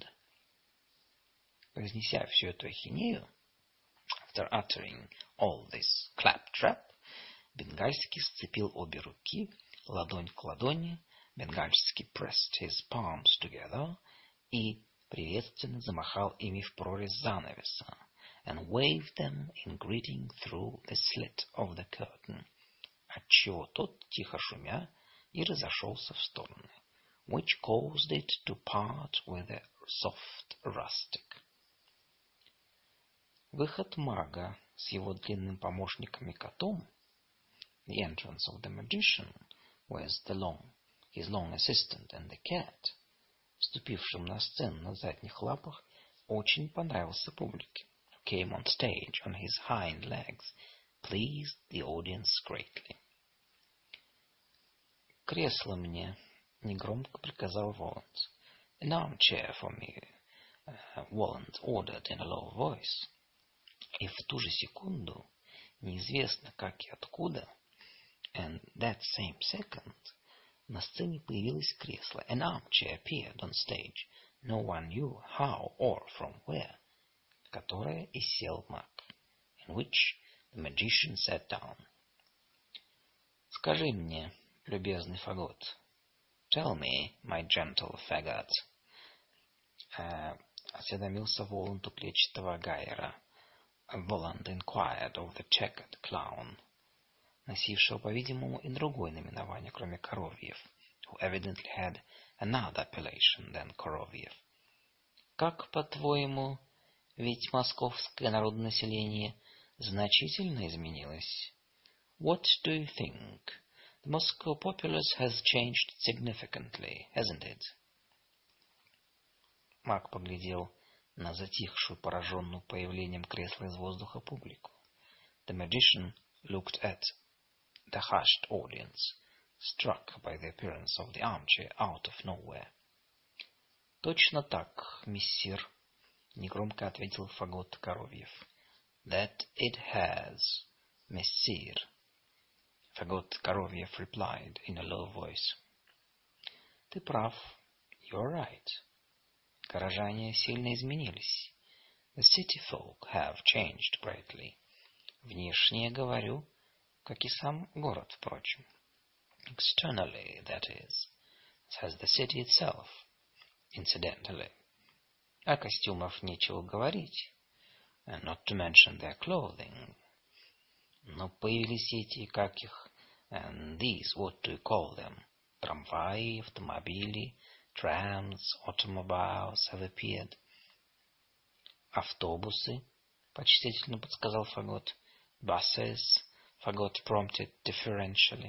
Произнеся всю эту ахинею, after uttering all this claptrap, Бенгальский сцепил обе руки, ладонь к ладони, Бенгальский pressed his palms together и приветственно замахал ими в прорезь занавеса, and waved them in greeting through the slit of the curtain, отчего тот, тихо шумя, и разошелся в стороны, which caused it to part with a soft rustic. Выход мага с его длинным помощником и котом, the entrance of the magician with his long assistant and the cat, вступившим на сцену на задних лапах, очень понравился публике, who came on stage on his hind legs, pleased the audience greatly. «Кресло мне», — негромко приказал Воланд. «An armchair for me», Воланд ordered in a low voice. И в ту же секунду, неизвестно как и откуда, and that same second, на сцене появилось кресло. An armchair appeared on stage. No one knew how or from where. В которое и сел маг. In which the magician sat down. «Скажи мне, любезный фагот». «Tell me, my gentle faggot», осведомился Воланд у клетчатого гайера. Воланд inquired of the checkered clown, носившего, по-видимому, и другое наименование, кроме Коровьев, who evidently had another appellation than Коровьев. «Как, по-твоему, ведь московское народное население значительно изменилось?» «What do you think? The Moscow populace has changed significantly, hasn't it?» Маг поглядел на затихшую, пораженную появлением кресла из воздуха публику. The magician looked at the hushed audience, struck by the appearance of the armchair out of nowhere. «Точно так, миссир», — негромко ответил Фагот Коровьев. «That it has, messire», Фагот Коровьев replied in a low voice. «Ты прав. You are right. Горожане сильно изменились. The city folk have changed greatly. Внешне, говорю, как и сам город, впрочем. Externally, that is, as the city itself, incidentally. О костюмах нечего говорить, and not to mention their clothing. Но появились эти, как их, and these, what do you call them? Трамваи, автомобили, trams, automobiles have appeared. Автобусы, почтительно подсказал Фагот. Buses, Фагот prompted deferentially.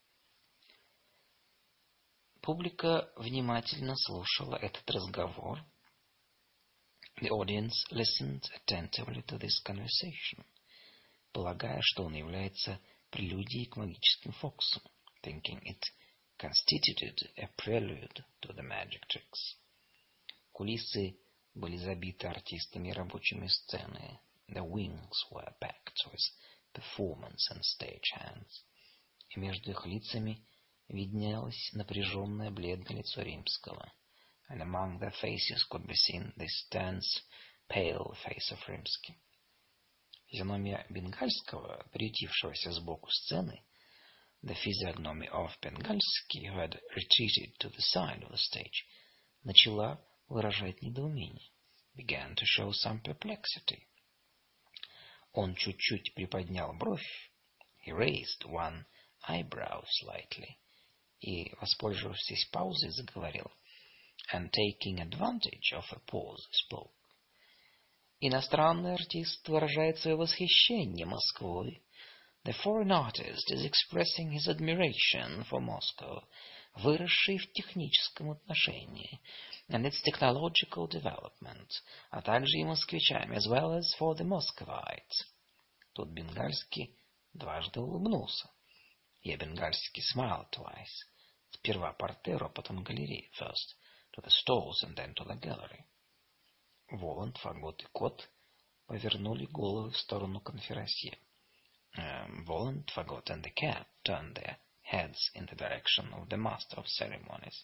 Публика внимательно слушала этот разговор. The audience listened attentively to this conversation, полагая, что он является прелюдией к магическим фокусам, thinking it constituted a prelude to the magic tricks. Кулисы были забиты артистами и рабочими сцены. The wings were packed with performance and stage hands. И между их лицами виднелось напряженное бледное лицо Римского. And among their faces could be seen this tense, pale face of Rimsky. Физиономия Бенгальского, приютившегося сбоку сцены, the physiognomy of Бенгальский, who had retreated to the side of the stage, начала выражать недоумение, began to show some perplexity. Он чуть-чуть приподнял бровь, he raised one eyebrow slightly, и, воспользовавшись паузой, заговорил, and taking advantage of a pause, spoke. Иностранный артист выражает свое восхищение Москвой. The foreign artist is expressing his admiration for Moscow, выросший в техническом отношении, and its technological development, а также и москвичами, as well as for the Muscovites. Тут Бенгальский дважды улыбнулся. И Бенгальский smiled twice. Сперва партеру, а потом галерее, first to the stalls and then to the gallery. Воланд, Фагот и Кот повернули головы в сторону конферансье. Воланд, Фагот and the cat turned their heads in the direction of the master of ceremonies.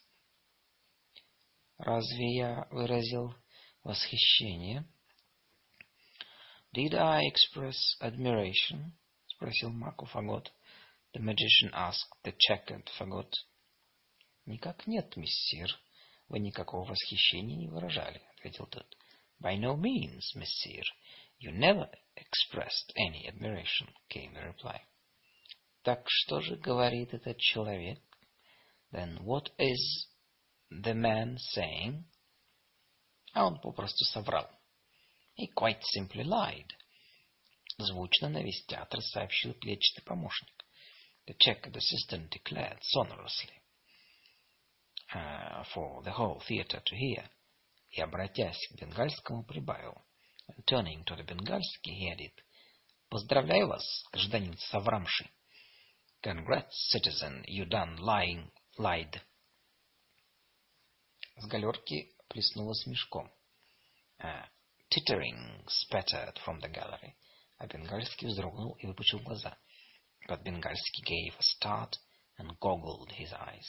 Разве я выразил восхищение? Did I express admiration? Спросил маг у Фагот. The magician asked the checkered Фагот. Никак нет, миссир. Вы никакого восхищения не выражали, ответил тот. By no means, messire. You never expressed any admiration, came the reply. Так что же говорит этот человек? Then what is the man saying? А он попросту соврал. He quite simply lied. Звучно на весь театр сообщил клетчатый помощник. The checkered assistant declared sonorously. For the whole theater to hear. И, обратясь к Бенгальскому, прибавил. And turning to the Бенгальский, he added, поздравляю вас, гражданин соврамши. Congrats, citizen, you done lied. С галерки плеснуло смешком. Tittering spattered from the gallery. А Бенгальский вздрогнул и выпучил глаза. But Бенгальский gave a start and goggled his eyes.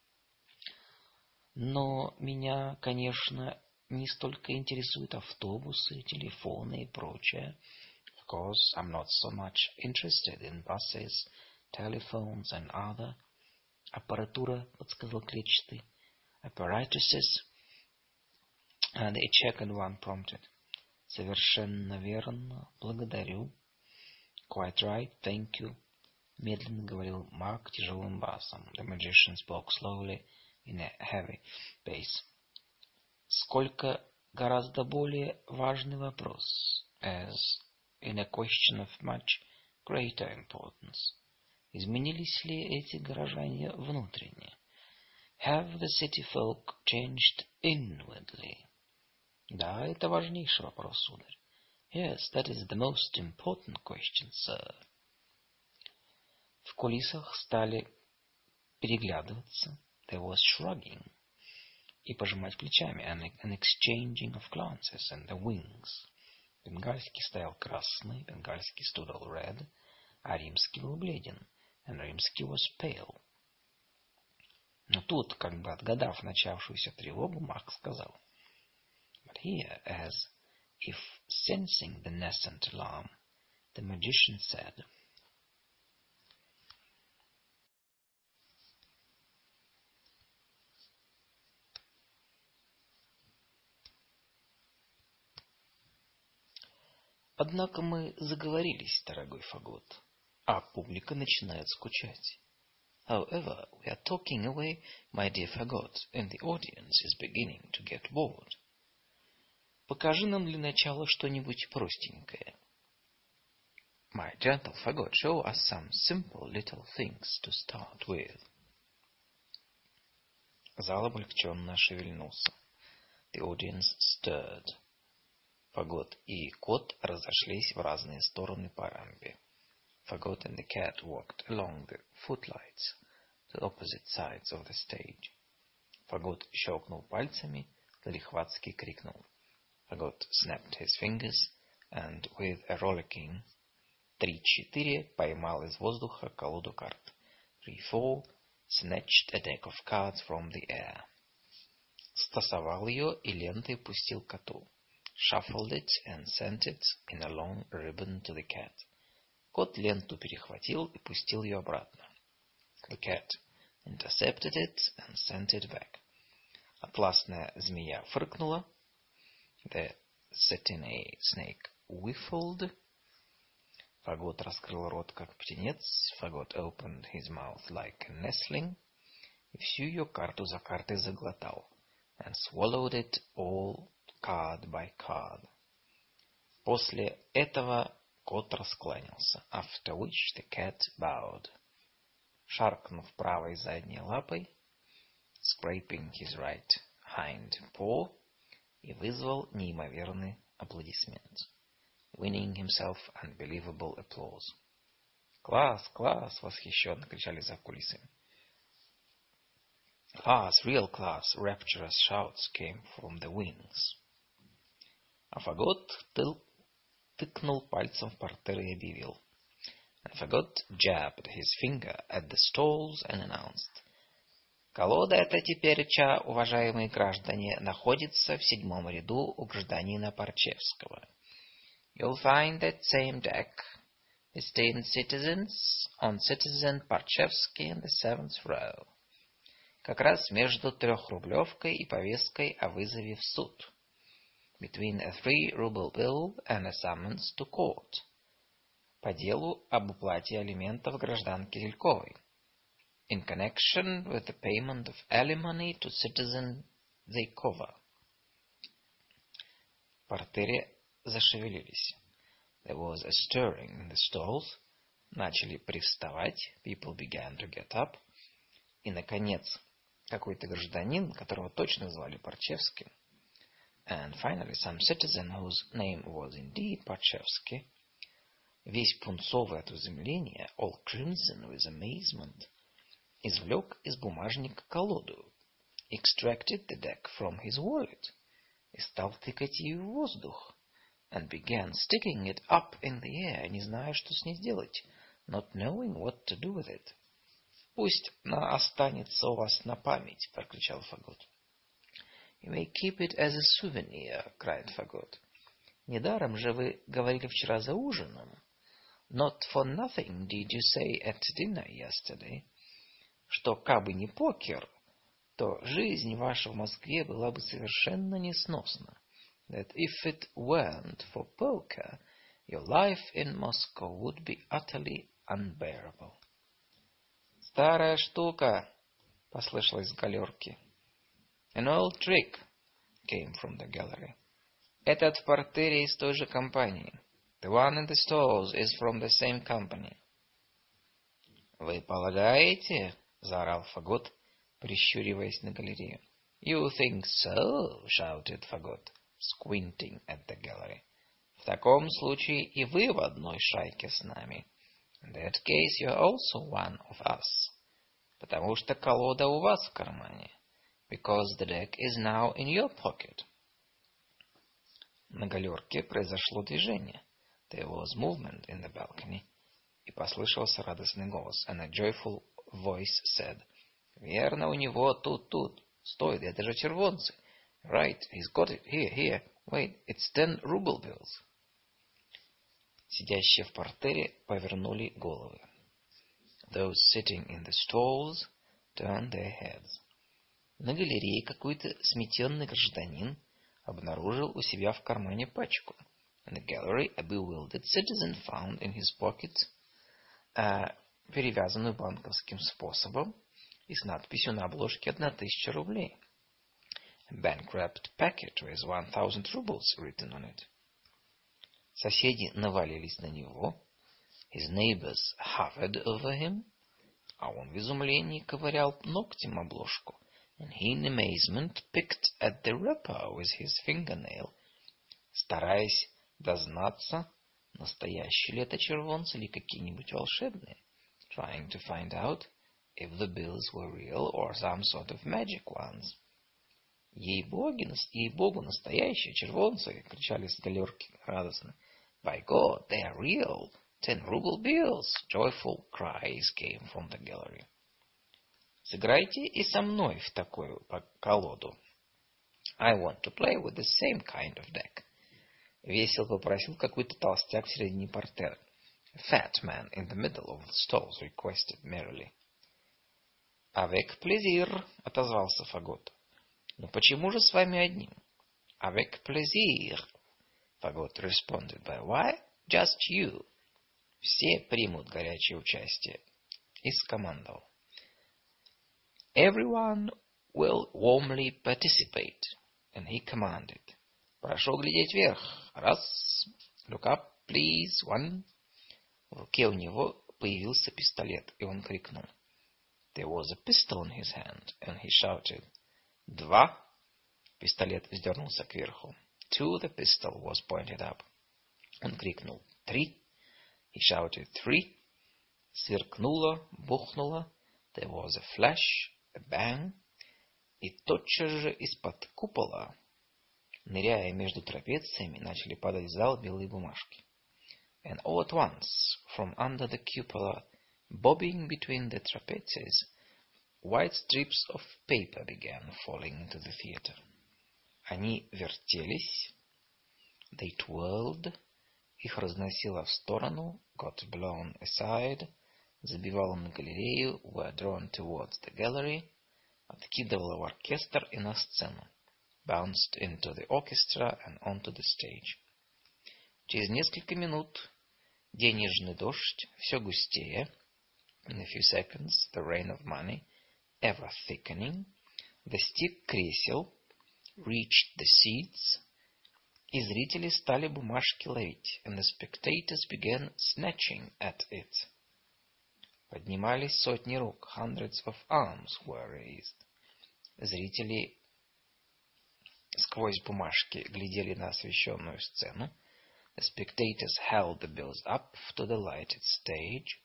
Но меня, конечно, не столько интересуют автобусы, телефоны и прочее. Of course, I'm not so much interested in buses, telephones and other. Аппаратура, подсказал клетчатый. Apparatuses, and the checkered one prompted. Совершенно верно, благодарю. Quite right, thank you. Медленно говорил маг тяжелым басом. The magician spoke slowly in a heavy bass. Сколько гораздо более важный вопрос, as in a question of much greater importance. Изменились ли эти горожане внутренне? Have the city folk changed inwardly? Да, это важнейший вопрос, сударь. Yes, that is the most important question, sir. В кулисах стали переглядываться, there was shrugging, и пожимать плечами, an exchanging of glances, and the wings. Бенгальский стоял красный, бенгальский stood all red, а римский был бледен, and римский was pale. Но тут, как бы отгадав начавшуюся тревогу, Маг сказал, but here, as if sensing the nascent alarm, the magician said, «Однако мы заговорились, дорогой Фагот, а публика начинает скучать. However, we are talking away, my dear Fagot, and the audience is beginning to get bored. Покажи нам для начала что-нибудь простенькое. My gentle Fagot, show us some simple little things to start with». Зал облегченно шевельнулся. The audience stirred. Фагот и кот разошлись в разные стороны по рампе. Fagot and the cat walked along the footlights to opposite sides of the stage. Fagot щелкнул пальцами, залихватски крикнул. Fagot snapped his fingers and with a rollicking 3-4 поймал из воздуха колоду карт. 3-4 snatched a deck of cards from the air. Стасовал ее и лентой пустил коту. Shuffled it and sent it in a long ribbon to the cat. Кот ленту перехватил и пустил ее обратно. The cat intercepted it and sent it back. Атласная змея фыркнула. The satiny snake whiffled. Фагот раскрыл рот, как птенец. Fagot opened his mouth like a nestling. И всю ее карту за картой заглотал. And swallowed it all card by card. После этого кот раскланялся. After which the cat bowed. Шаркнув правой задней лапой, scraping his right hind paw, и вызвал неимоверный аплодисмент. Winning himself unbelievable applause. «Класс! Класс!» — восхищенно кричали за кулисами. «Class! Real class!» — rapturous shouts came from the wings. А Фагот тыкнул пальцем в портер и объявил. And Fagot jabbed his finger at the stalls and announced. «Колода эта тепереча, уважаемые граждане, находится в 7-м ряду у гражданина Парчевского. You'll find that same deck, esteemed citizens, on citizen Parchevsky in the 7th row. Как раз между 3-рублевкой и повесткой о вызове в суд. Between a 3-ruble bill and a summons to court. По делу об уплате алиментов гражданке Зельковой. In connection with the payment of alimony to citizen Зелькова». В портере зашевелились. There was a stirring in the stalls. Начали привставать. People began to get up. И, наконец, какой-то гражданин, которого точно звали Парчевским, and finally some citizen whose name was indeed Parchevsky, весь пунцовый от изумления, all crimson with amazement, извлек из бумажника колоду, extracted the deck from his wallet, и стал тыкать ее в воздух, and began sticking it up in the air, не зная, что с ней сделать, not knowing what to do with it. «Пусть она останется у вас на память», — прокричал Фагот. «You may keep it as a souvenir», — cried Fagot. «Недаром же вы говорили вчера за ужином. Not for nothing did you say at dinner yesterday, что кабы не покер, то жизнь ваша в Москве была бы совершенно несносна. That if it weren't for poker, your life in Moscow would be utterly unbearable». «Старая штука», — послышалось с галерки. «An old trick», came from the gallery. «Этот в портере из той же компании». «The one in the stalls is from the same company». «Вы полагаете?» — заорал Фагот, прищуриваясь на галерею. «You think so?» — shouted Fagot, squinting at the gallery. «В таком случае и вы в одной шайке с нами». «In that case you are also one of us». Потому что колода у вас в кармане. Because the deck is now in your pocket. На галерке произошло движение. There was movement in the balcony. И послышался радостный голос. And a joyful voice said, верно, у него тут. Стой, это же червонцы. Right, he's got it. Here. Wait, it's 10 ruble bills. Сидящие в партере повернули головы. Those sitting in the stalls turned their heads. На галерее какой-то сметенный гражданин обнаружил у себя в кармане пачку. In the gallery, a bewildered citizen found in his pocket перевязанную банковским способом и с надписью на обложке 1000 рублей. A bank-wrapped packet with 1000 rubles written on it. Соседи навалились на него. His neighbors hovered over him. А он в изумлении ковырял ногтем обложку. And he in amazement picked at the wrapper with his fingernail, стараясь дознаться, настоящие ли это червонцы или какие-нибудь волшебные. Trying to find out if the bills were real or some sort of magic ones. Ей-богу, настоящие червонцы, кричали с галерки радостно. By God, they are real, 10 ruble bills! Joyful cries came from the gallery. Сыграйте и со мной в такую колоду. I want to play with the same kind of deck. Весело попросил какой-то толстяк в середине портера. A fat man in the middle of the stalls requested merrily. Avec plaisir, отозвался Фагот. Но почему же с вами одним? Avec plaisir, Фагот responded. By why? Just you. Все примут горячее участие. И скомандовал. Everyone will warmly participate. And he commanded. Прошу глядеть вверх. Раз. Look up, please. One. В руке у него появился пистолет, и он крикнул. There was a pistol in his hand, and he shouted. 2. Пистолет вздернулся кверху. 2. The pistol was pointed up. Он крикнул. 3. He shouted. 3. Сверкнуло, бухнуло. There was a flash, a bang. И тотчас же из-под купола, ныряя между трапециями, начали падать в зал белые бумажки. And all at once, from under the cupola, bobbing between the trapezes, white strips of paper began falling into the theater. Они вертелись, they twirled, их разносило в сторону, got blown aside, забивало на галерею, were drawn towards the gallery, откидывало в оркестр и на сцену, bounced into the orchestra and onto the stage. Через несколько минут денежный дождь все густее. In a few seconds, the rain of money, ever thickening, достиг кресел, reached the seats, и зрители стали бумажки ловить, and the spectators began snatching at it. Поднимались сотни рук, hundreds of arms were raised. Зрители сквозь бумажки глядели на освещенную сцену. The spectators held the bills up to the lighted stage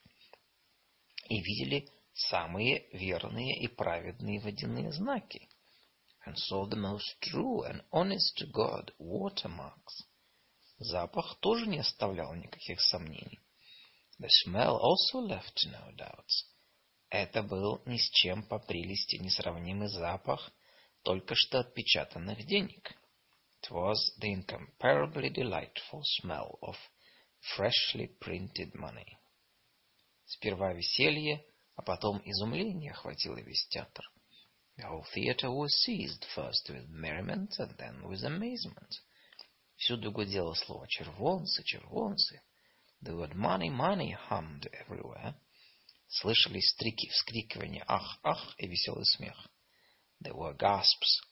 и видели самые верные и праведные водяные знаки. And saw the most true and honest to God watermarks. Запах тоже не оставлял никаких сомнений. The smell also left no doubts. Это был ни с чем по прелести несравнимый запах только что отпечатанных денег. It was the incomparably delightful smell of freshly printed money. Сперва веселье, а потом изумление охватило весь театр. The whole theater was seized first with merriment and then with amazement. Всюду гудело слово «червонцы, червонцы». The word money, money hummed everywhere. Слышались вскрикивания «ах, ах» и веселый смех. There were gasps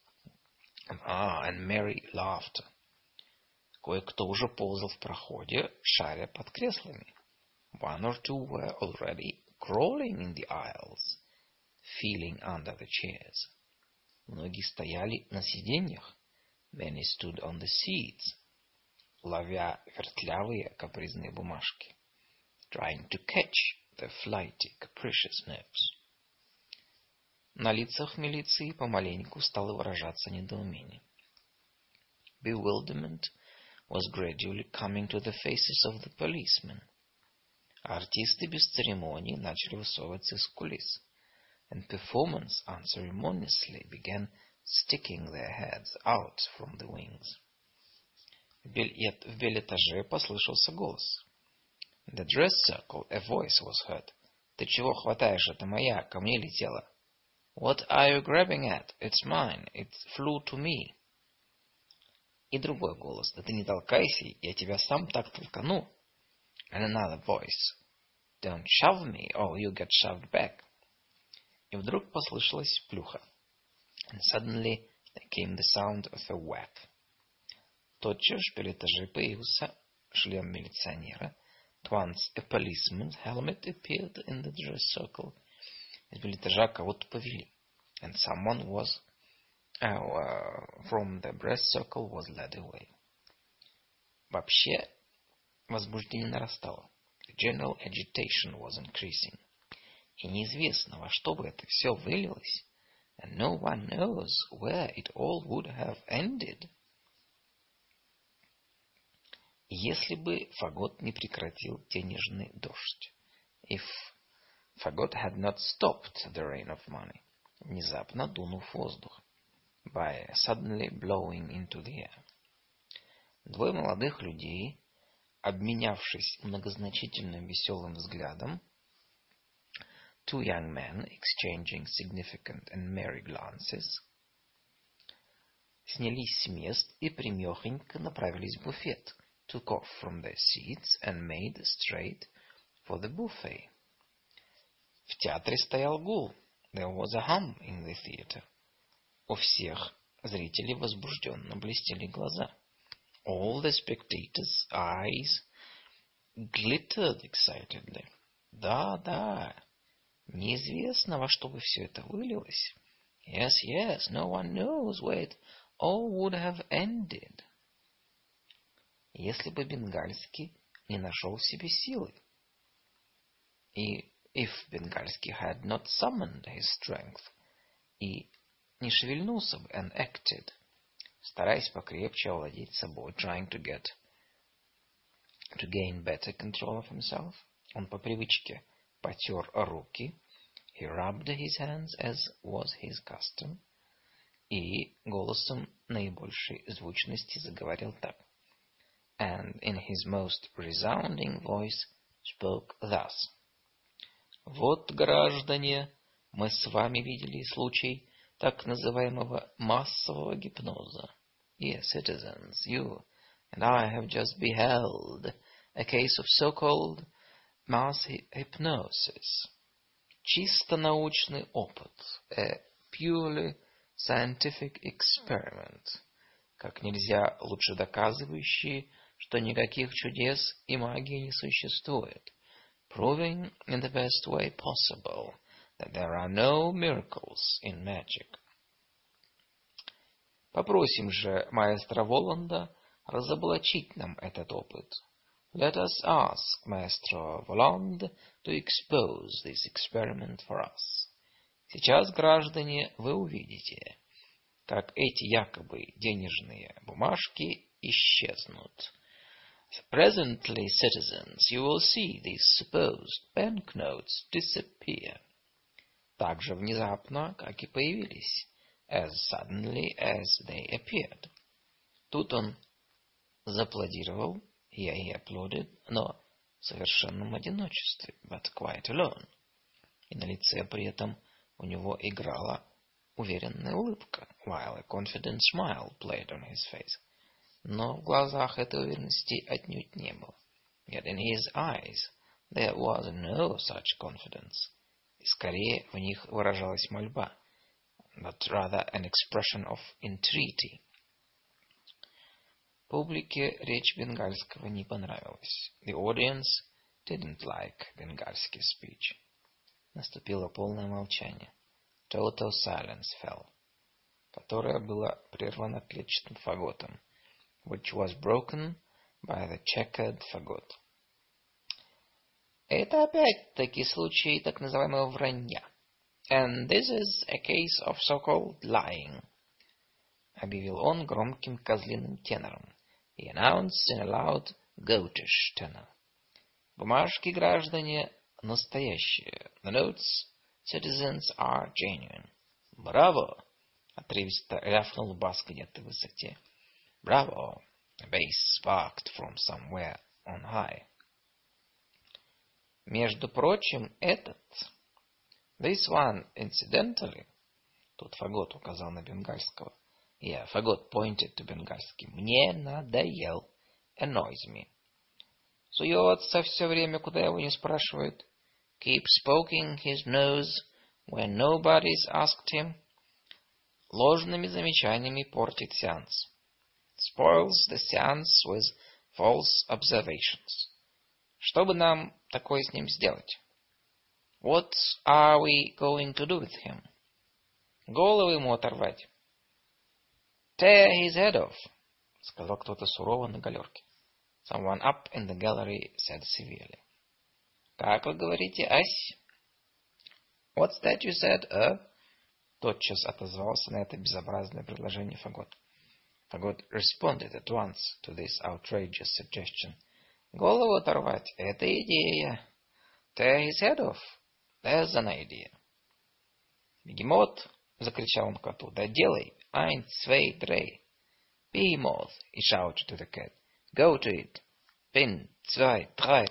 and merry laughter. Кое-кто уже ползал в проходе, шаря под креслами. One or two were already crawling in the aisles, feeling under the chairs. Многие стояли на сиденьях. Many stood on the seats, ловя вертлявые капризные бумажки, trying to catch the flighty, capricious notes. На лицах милиции помаленьку стало выражаться недоумение. Bewilderment was gradually coming to the faces of the policemen. Артисты без церемонии начали высовываться из кулис, and performers unceremoniously began sticking their heads out from the wings. В бельэтаже послышался голос. In the dress circle a voice was heard. Ты чего хватаешь? Это моя, ко мне летела. What are you grabbing at? It's mine. It flew to me. И другой голос. Да ты не толкайся, я тебя сам так толкану. And another voice. Don't shove me, or you get shoved back. И вдруг послышалась плюха. And suddenly there came the sound of a whack. Тотчас в бельэтаже появился шлем милиционера. At once a policeman's helmet appeared in the dress circle. Из бельэтажа кого-то повели. And someone was from the dress circle was led away. Вообще возбуждение нарастало. The general agitation was increasing. И неизвестно, во что бы это все вылилось. And no one knows where it all would have ended. Если бы Фагот не прекратил денежный дождь. If Фагот had not stopped the rain of money. Внезапно дунув воздух. By suddenly blowing into the air. Двое молодых людей, обменявшись многозначительным веселым взглядом, two young men exchanging significant and merry glances, снялись с мест и прямехонько направились в буфет, took off from their seats and made straight for the buffet. В театре стоял гул. There was a hum in the theater. У всех зрителей возбужденно блестели глаза. All the spectators' eyes glittered excitedly. Да. Неизвестно, во что бы все это вылилось. Yes, no one knows where it all would have ended. Если бы Бенгальский не нашел в себе силы. И if Бенгальский had not summoned his strength. И не шевельнулся бы and acted, стараясь покрепче овладеть собой, trying to gain better control of himself. Он по привычке потер руки. He rubbed his hands, as was his custom. И голосом наибольшей звучности заговорил так. And in his most resounding voice spoke thus. Вот, граждане, мы с вами видели случай так называемого массового гипноза. Yes, citizens, you and I have just beheld a case of so-called mass hypnosis. Чисто научный опыт, a purely scientific experiment, как нельзя лучше доказывающий, что никаких чудес и магии не существует, proving in the best way possible that there are no miracles in magic. Попросим же маэстро Воланда разоблачить нам этот опыт. Let us ask Maestro Voland to expose this experiment for us. Сейчас, граждане, вы увидите, как эти якобы денежные бумажки исчезнут. Presently, citizens, you will see these supposed banknotes disappear. Так же внезапно, как и появились, as suddenly as they appeared. Тут он зааплодировал, here he applauded, но в совершенном одиночестве, but quite alone. И на лице при этом у него играла уверенная улыбка, while a confident smile played on his face. Но в глазах этой уверенности отнюдь не было. Yet in his eyes there was no such confidence. И скорее в них выражалась мольба, but rather an expression of entreaty. Публике речь Бенгальского не понравилась. The audience didn't like Бенгальский speech. Наступило полное молчание. Total silence fell, которое было прервано клетчатым фаготом, which was broken by the checkered fagot. Это опять-таки случай так называемого вранья. And this is a case of so-called lying, объявил он громким козлиным тенором. He announced in a loud goatish tenor. Бумажки, граждане, настоящие. The notes, citizens, are genuine. Браво! Отрывисто рявкнул бас где-то в высоте. Браво! A bass barked from somewhere on high. Между прочим, этот... This one, incidentally... Тут Фагот указал на бенгальского. Yeah, Фагот pointed to бенгальский. Мне надоел. Annoys me. Суется все время, куда его не спрашивают. Keeps poking his nose when nobody's asked him. Ложными замечаниями портит сеанс. Spoils the seance with false observations. Что бы нам такое с ним сделать? What are we going to do with him? Голову ему оторвать. Tear his head off, сказал кто-то сурово на галерке. Someone up in the gallery said severely. Как вы говорите, ась? What's that you said, Тотчас отозвался на это безобразное предложение Фагот. Фагот responded at once to this outrageous suggestion. Голову оторвать — это идея. Tear his head off. There's an idea. Бегемот, закричал он коту, да делай. Eins, zwei, drei. Behemoth, he shouted to the cat. Go to it. Bin, zwei, drei.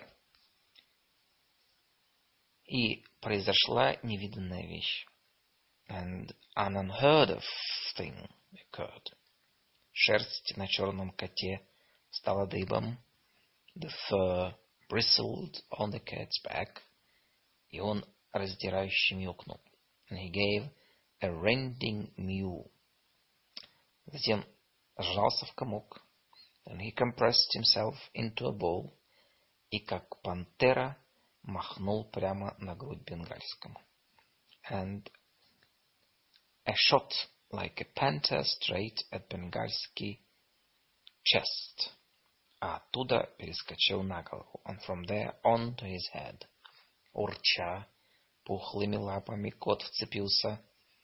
И произошла невиданная вещь. And an unheard of thing occurred. Шерсть на черном коте стала дыбом. The fur bristled on the cat's back. И он раздирающе мяукнул. And he gave a rending mew. Затем сжался в комок. And he compressed himself into a ball. И как пантера махнул прямо на грудь бенгальскому. And a shot like a panther straight at бенгальский chest. А оттуда перескочил на голову. And from there on to his head. Урча, пухлыми лапами кот вцепился.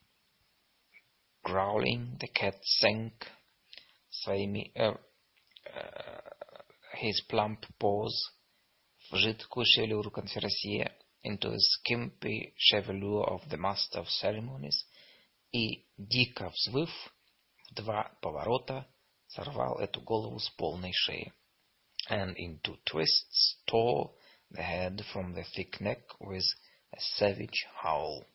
Growling, the cat sank своими his plump paws в жидкую шевелюру конферансье, into the skimpy chevelure of the master of ceremonies, и, дико взвыв, в два поворота сорвал эту голову с полной шеи. And in two twists tore the head from the thick neck with a savage howl.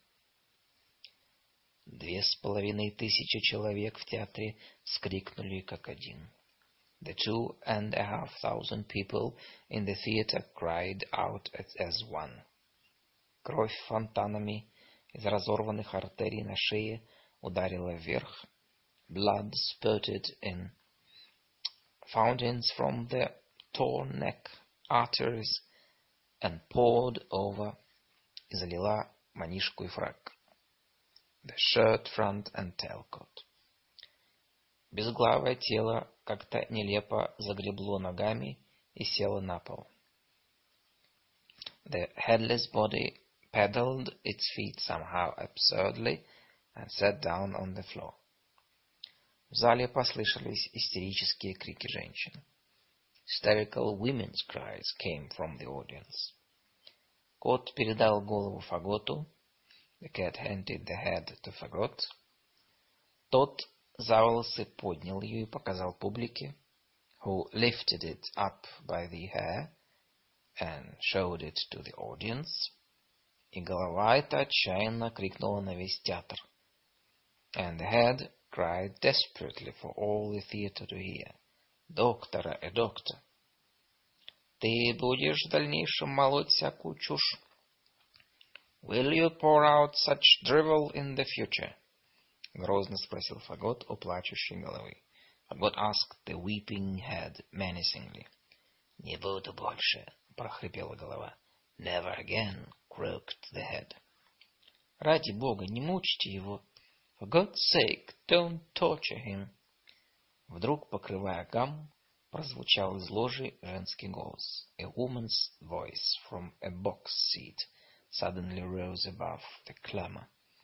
2500 человек в театре вскрикнули как один. The 2500 people in the theater cried out as one. Кровь фонтанами из разорванных артерий на шее ударила вверх. Blood spurted in fountains from the torn neck arteries and poured over и залила манишку и фрак. The shirt, front and tailcoat. Безглавое тело как-то нелепо загребло ногами и село на пол. The headless body paddled its feet somehow absurdly and sat down on the floor. В зале послышались истерические крики женщин. Hysterical women's cries came from the audience. Кот передал голову Фаготу. The cat handed the head to Fagot. Тот за волосы поднял ее и показал публике, who lifted it up by the hair and showed it to the audience. И голова эта отчаянно крикнула на весь театр. And the head cried desperately for all the theater to hear. Доктора, доктор, ты будешь в дальнейшем молоть всякую чушь? Will you pour out such drivel in the future? Грозно спросил Фагот у плачущей головы. Фагот asked the weeping head menacingly. Не буду больше, прохрипела голова. Never again, croaked the head. Ради Бога, не мучьте его. For God's sake, don't torture him. Вдруг, покрывая гам, прозвучал из ложи женский голос. A woman's voice from a box seat suddenly rose above the clamor.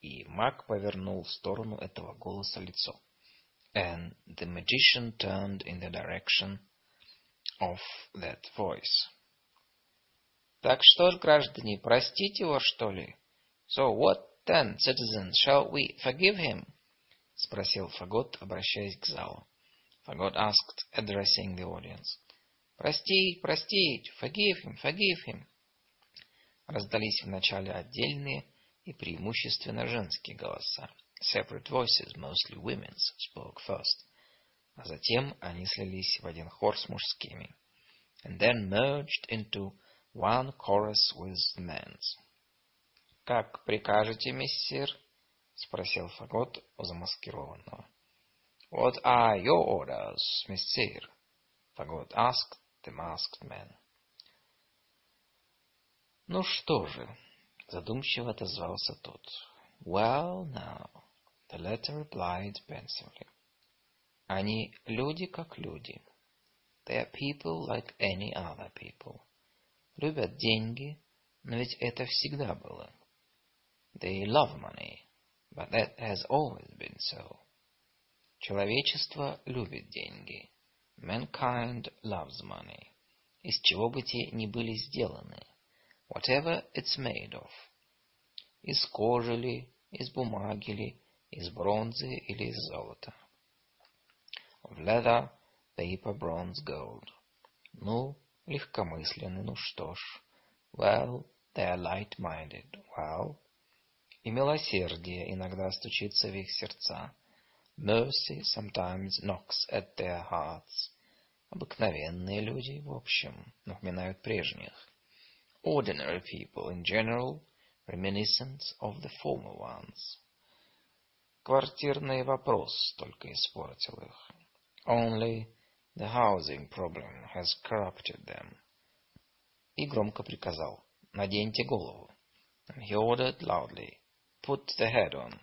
и маг повернул в сторону этого голоса лицо. And the magician turned in the direction of that voice. Так что ж, граждане, простить его, что ли? So what then, citizens, shall we forgive him? Спросил Фагот, обращаясь к залу. Фагот asked, addressing the audience. Простить, простить, forgive him. Раздались вначале отдельные и преимущественно женские голоса. Separate voices, mostly women's, spoke first. А затем они слились в один хор с мужскими. And then merged into one chorus with the men's. «Как прикажете, мессир?» — спросил Фагот у замаскированного. «What are your orders, мессир?» Фагот asked the masked man. «Ну что же?» — задумчиво отозвался тот. «Well, now», — the latter replied pensively. «Они люди, как люди. They are people like any other people. Любят деньги, но ведь это всегда было. They love money, but that has always been so. Человечество любит деньги. Mankind loves money. Из чего бы те ни были сделаны. Whatever it's made of. Из кожи ли, из бумаги ли, из бронзы или из золота. Of leather, paper, bronze, gold. Ну, легкомысленны, ну что ж. Well, they are light-minded. Well. И милосердие иногда стучится в их сердца. Mercy sometimes knocks at their hearts. Обыкновенные люди, в общем, напоминают прежних. Ordinary people in general, reminiscent of the former ones. Квартирный вопрос только испортил их. Only the housing problem has corrupted them. И громко приказал: наденьте голову. And he ordered loudly: put the head on.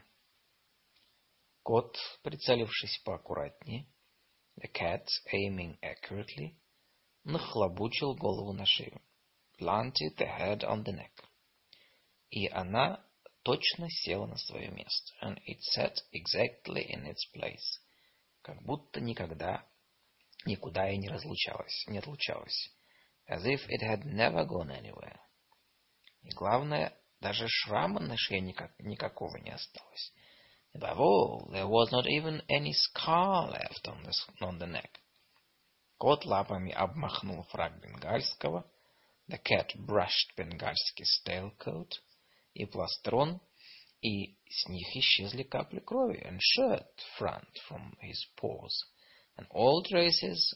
Кот, прицелившись поаккуратнее, the cat, aiming accurately, нахлобучил голову на шею. Planted the head on the neck. И она точно села на свое место. And it sat exactly in its place. Как будто никогда никуда и не отлучалась. As if it had never gone anywhere. И главное, даже шрама на шее никакого не осталось. Above all, there was not even any scar left on the neck. Кот лапами обмахнул фрак бенгальского. The cat brushed Бенгальский's tailcoat и пластрон, и с них исчезли капли крови, and shirt front from his paws, and all traces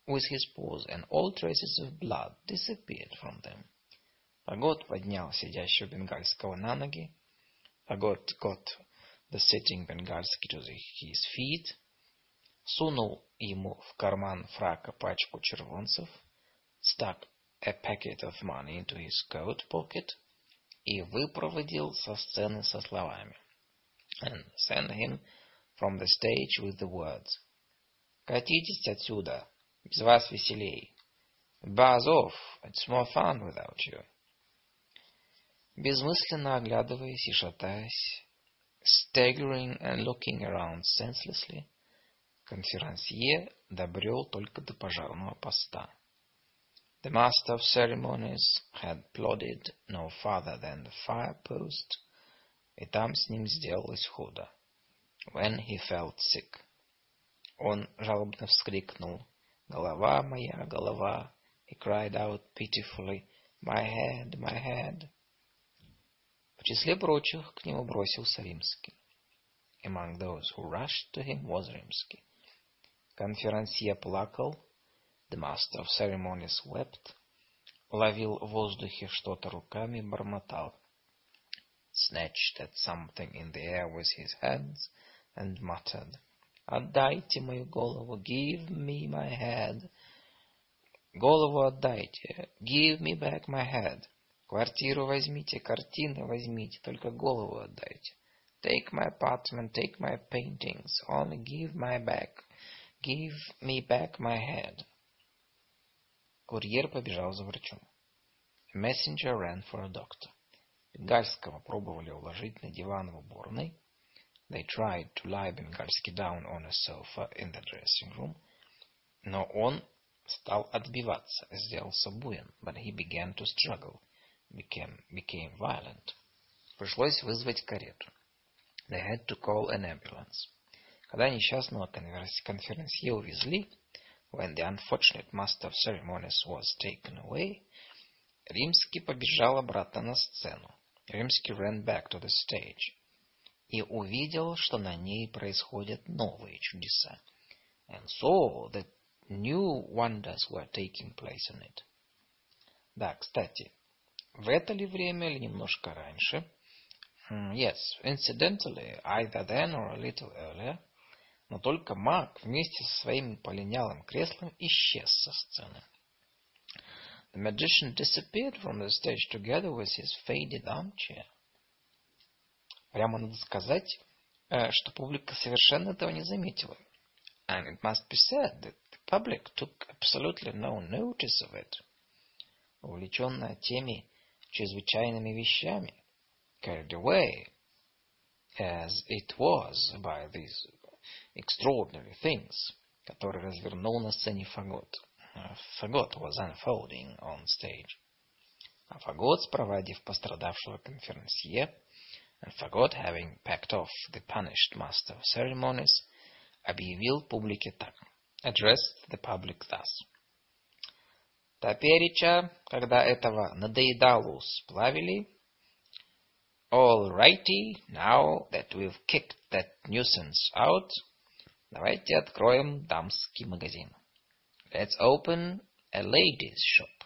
of blood disappeared from them. Фагот поднял сидящего бенгальского на ноги. Фагот got the sitting Бенгальский to his feet, сунул ему в карман фрака пачку червонцев, stuck a packet of money into his coat pocket и выпроводил со сцены со словами. And sent him from the stage with the words: «Катитесь отсюда, без вас веселей. Buzz off, it's more fun without you». Безмысленно оглядываясь и шатаясь, staggering and looking around senselessly, конферансье добрел только до пожарного поста. The master of ceremonies had plodded no farther than the fire post, и там с ним сделалось худо. When he felt sick. Он жалобно вскрикнул: «Голова моя, голова!» He cried out pitifully: «My head, my head!» В числе прочих к нему бросился Римский. Among those who rushed to him was Римский. Конферансье плакал. The master of ceremonies wept. Ловил в воздухе что-то руками, бормотал. Snatched at something in the air with his hands and muttered: «Отдайте мою голову! Give me my head! Голову отдайте! Give me back my head! Квартиру возьмите, картины возьмите, только голову отдайте! Take my apartment, take my paintings, only give me back my head!» Курьер побежал за врачом. A messenger ran for a doctor. Бенгальского пробовали уложить на диван в уборной. They tried to lie Бенгальский down on a sofa in the dressing room. Но он стал отбиваться, сделался буйен. But he began to struggle, became violent. Пришлось вызвать карету. They had to call an ambulance. Когда несчастного конферансье увезли, when the unfortunate master of ceremonies was taken away, Римский побежал обратно на сцену. Римский ran back to the stage. И увидел, что на ней происходят новые чудеса. And saw that new wonders were taking place in it. Да, кстати, в это ли время или немножко раньше? Yes, incidentally, either then or a little earlier. Но только маг вместе со своим полинялым креслом исчез со сцены. The magician disappeared from the stage together with his faded armchair. Прямо надо сказать, что публика совершенно этого не заметила. And it must be said that the public took absolutely no notice of it. Увлеченная теми чрезвычайными вещами, carried away, as it was by these extraordinary things, которые развернул на сцене Фагот. Фагот was unfolding on stage. А Фагот, спровадив пострадавшего конферансье, and Фагот, having packed off the punished master of ceremonies, объявил публике так. Addressed the public thus. Топереча, когда этого надоедалу сплавили, all righty, now that we've kicked that nuisance out, давайте откроем дамский магазин. Let's open a ladies' shop.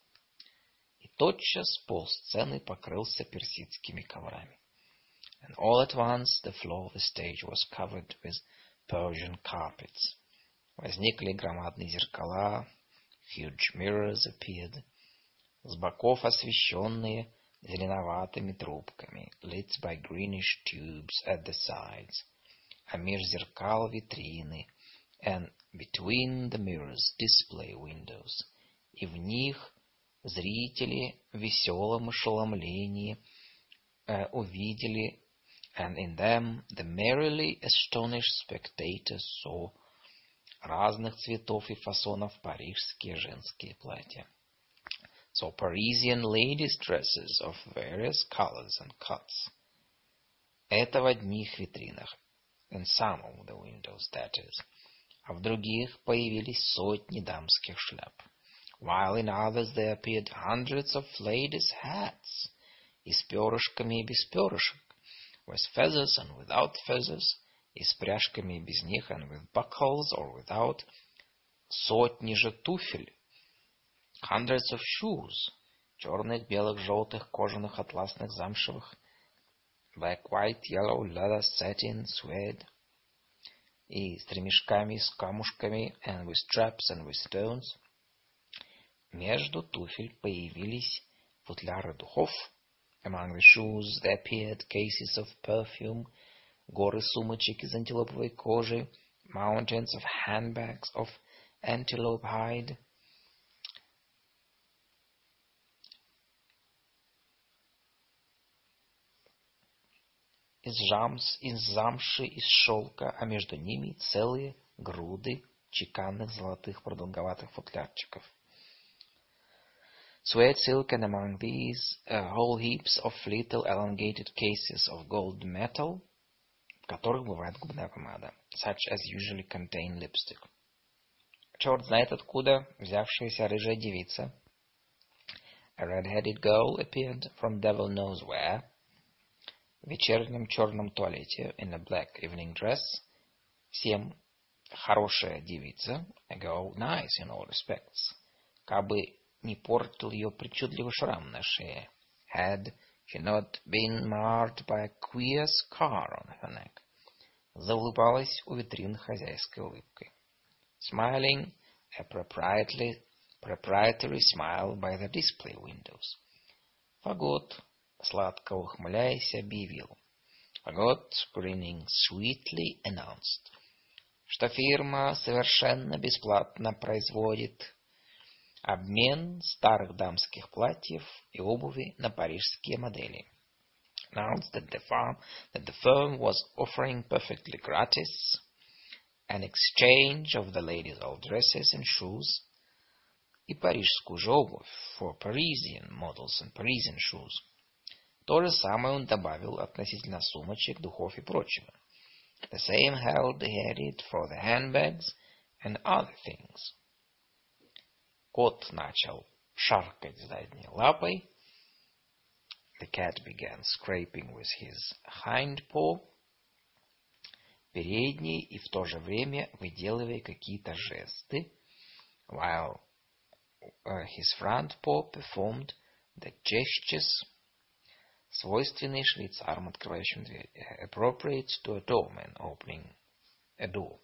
И тотчас полсцены покрылся персидскими коврами. And all at once the floor of the stage was covered with Persian carpets. Возникли громадные зеркала, huge mirrors appeared, с боков освещенные зеленоватыми трубками, lit by greenish tubes at the sides, а меж зеркал витрины, and between the mirrors display windows, и в них зрители в веселом ошеломлении увидели, and in them the merrily astonished spectators saw разных цветов и фасонов парижские женские платья. So Parisian ladies' dresses of various colors and cuts. Это в одних витринах, in some of the windows, that is. А в других появились сотни дамских шляп. While in others there appeared hundreds of ladies' hats, и с перышками и без перышек, with feathers and without feathers, и с пряжками и без них, and with buckles or without, сотни же туфель, hundreds of shoes, черных, белых, желтых, кожаных, атласных, замшевых, black, white, yellow, leather, satin, suede, и с ремешками, с камушками, and with straps and with stones. Между туфель появились футляры духов. Among the shoes there appeared cases of perfume, горы сумочек из антилоповой кожи, mountains of handbags of antelope hide. Из замши, из шелка, а между ними целые груды чеканных золотых продолговатых футлярчиков. Suede silk, and among these whole heaps of little elongated cases of gold metal, в которых бывает губная помада, such as usually contain lipstick. Черт знает откуда взявшаяся рыжая девица, a red-headed girl appeared from devil knows where, в вечернем черном туалете, in a black evening dress, всем хорошая девица, a girl nice in all respects, кабы не портил ее причудливый шрам на шее, had she not been marred by a queer scar on her neck, заулыбалась у витрин хозяйской улыбкой. Smiling a proprietary smile by the display windows. Фагот, сладко ухмыляясь, объявил. Фагот, grinning sweetly, announced, что фирма совершенно бесплатно производит обмен старых дамских платьев и обуви на парижские модели. announced that the firm was offering perfectly gratis an exchange of the ladies' old dresses and shoes и парижскую же обувь for Parisian models and Parisian shoes. То же самое он добавил относительно сумочек, духов и прочего. The same held he added for the handbags and other things. Кот начал шаркать задней лапой. The cat began scraping with his hind paw, передней и в то же время выделывая какие-то жесты, while his front paw performed the gestures, свойственные швейцарам, открывающим дверь, appropriate to a doorman opening a door.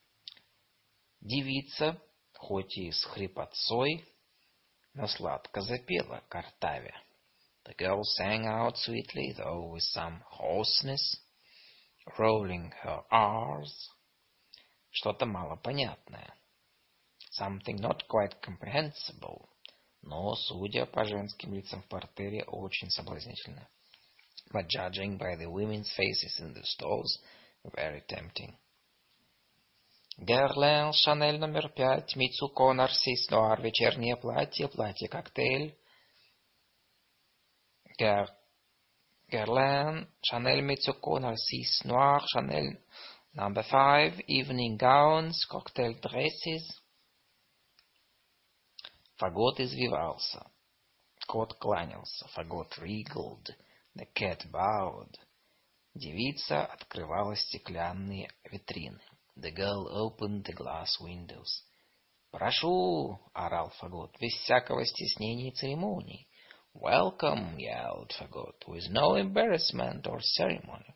Девица, хоть и с хрипотцой, но сладко запела, картавя. The girl sang out sweetly, though with some hoarseness, rolling her R's. Что-то малопонятное. Something not quite comprehensible, но, судя по женским лицам в партере, очень соблазнительно. But judging by the women's faces in the stalls, very tempting. Guerlain, Chanel номер 5, Мицуко, Нарцисс Нуар, вечернее платье, платье-коктейль. Guerlain, Chanel, Mitsouko, Narcisse Noir, Chanel number 5, evening gowns, cocktail dresses. Фагот извивался. Кот кланялся. Фагот wriggled. The cat bowed. Девица открывала стеклянные витрины. The girl opened the glass windows. «Прошу!» — орал Фагот, без всякого стеснения и церемоний. «Welcome!» — yelled Фагот, with no embarrassment or ceremony.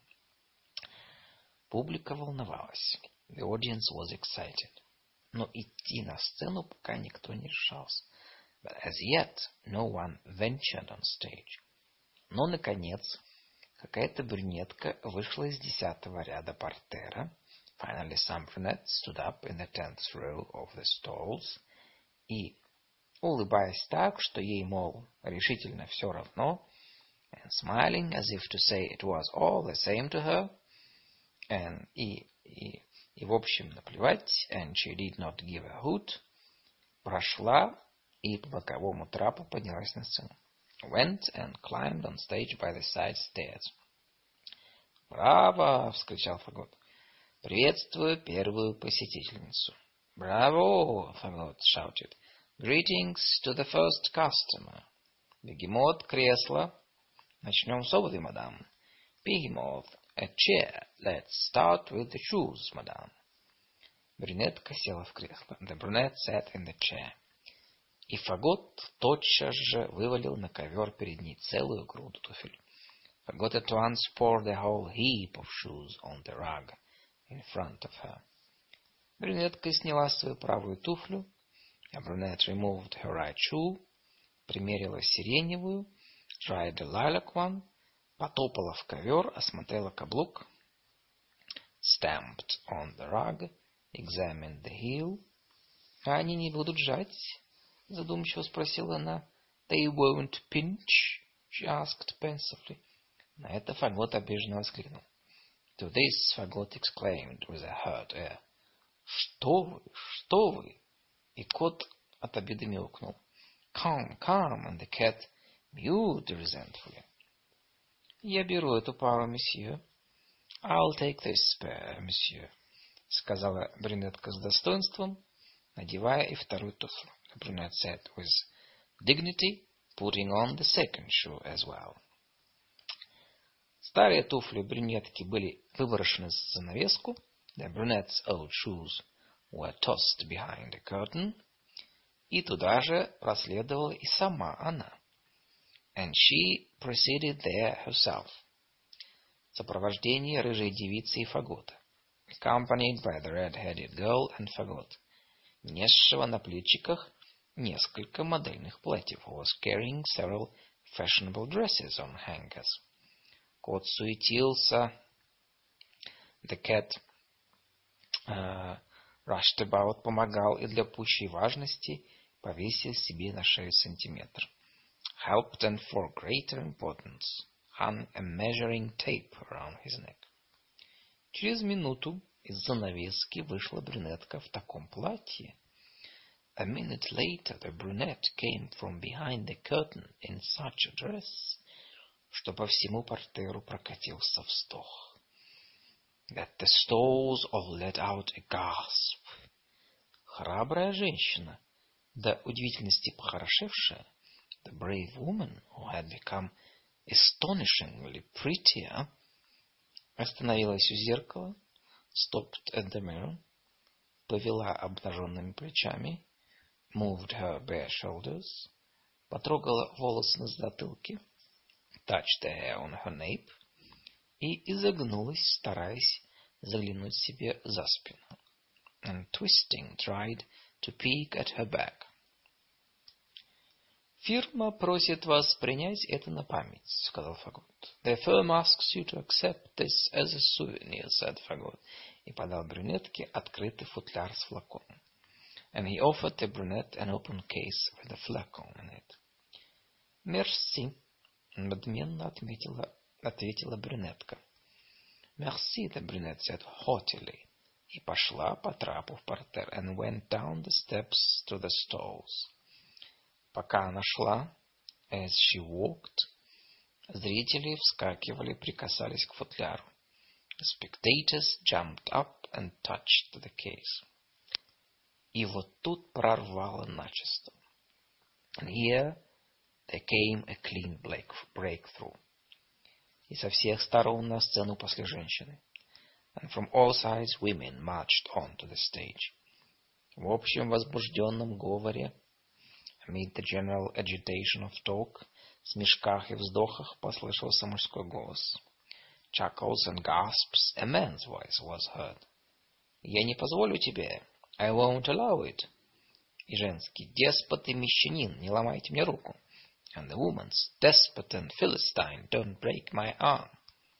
Публика волновалась. The audience was excited. Но идти на сцену пока никто не решался. But as yet, no one ventured on stage. Но, наконец, какая-то брюнетка вышла из 10-го ряда портера. Finally, some brunette stood up in the 10th row of the stalls и, улыбаясь так, что ей, мол, решительно все равно, and smiling as if to say it was all the same to her, and и в общем наплевать, and she did not give a hoot, прошла и по боковому трапу поднялась на сцену. Went and climbed on stage by the side stairs. «Браво!» — вскричал Фагот. «Приветствую первую посетительницу». «Браво!» — Фагот shouted. «Greetings to the first customer». «Бегемот, кресло». «Начнем с обуви, мадам». «Behemoth, a chair. Let's start with the shoes, madam». Брюнетка села в кресло. The brunette sat in the chair. И Фагот тотчас же вывалил на ковер перед ней целую груду туфель. Фагот at once poured the whole heap of shoes on the rug in front of her. Брюнетка сняла свою правую туфлю. A brunette removed her right shoe, примерила сиреневую, tried the lilac one, потопала в ковер, осмотрела каблук, stamped on the rug, examined the heel. «А они не будут жать?» — задумчиво спросила она. «They won't pinch?» — she asked pensively. На это Фагот обиженно воскликнул. To this Фагот exclaimed with a hurt air. «Что вы? Что вы?» И кот от обиды мяукнул. «Come, come!» And the cat mewed resentfully. «Я беру эту пару, месье». «I'll take this pair, monsieur», — сказала брюнетка с достоинством, надевая и вторую туфлю. The brunette said with dignity, putting on the second shoe as well. Старые туфли брюнетки были выброшены за занавеску. The brunette's old shoes were tossed behind a curtain. И туда же проследовала и сама она. And she proceeded there herself. В сопровождении рыжей девицы и Фагота. Accompanied by the red-headed girl and Fagot. Несшего на плечиках несколько модельных платьев. Who was carrying several fashionable dresses on hangers. Кот суетился. The cat rushed about, помогал и для пущей важности повесил себе на шею сантиметр. Helped and for greater importance hung a measuring tape around his neck. Через минуту из занавески вышла брюнетка в таком платье. A minute later the brunette came from behind the curtain in such a dress, что по всему партеру прокатился вздох. That the stalls all let out a gasp. Храбрая женщина, до удивительности похорошевшая, the brave woman who had become astonishingly prettier, остановилась у зеркала, stopped at the mirror, повела обнаженными плечами, moved her bare shoulders, потрогала волосы на затылке, touched the hair on her nape, и изогнулась, стараясь заглянуть себе за спину, and twisting tried to peek at her back. «Фирма просит вас принять это на память», — сказал Фагот. «The firm asks you to accept this as a souvenir», — said Фагот, и подал брюнетке открытый футляр с флаконом. And he offered the brunette an open case with a flacon in it. «Мерси», — надменно ответила брюнетка. «Merci», — the brunette said haughtily, и пошла по трапу в партер, and went down the steps to the stalls. Пока она шла, as she walked, зрители вскакивали, прикасались к футляру. The spectators jumped up and touched the case. И вот тут прорвало начисто. And here there came a clean breakthrough. И со всех сторон на сцену пошли женщины. And from all sides women marched on to the stage. В общем возбужденном говоре, amid the general agitation of talk, смешках и вздохах послышался мужской голос. Chuckles and gasps, a man's voice was heard. «Я не позволю тебе. I won't allow it». И женский: «Деспот и мещанин, не ломайте мне руку». And the woman's: «Despot and Philistine, don't break my arm».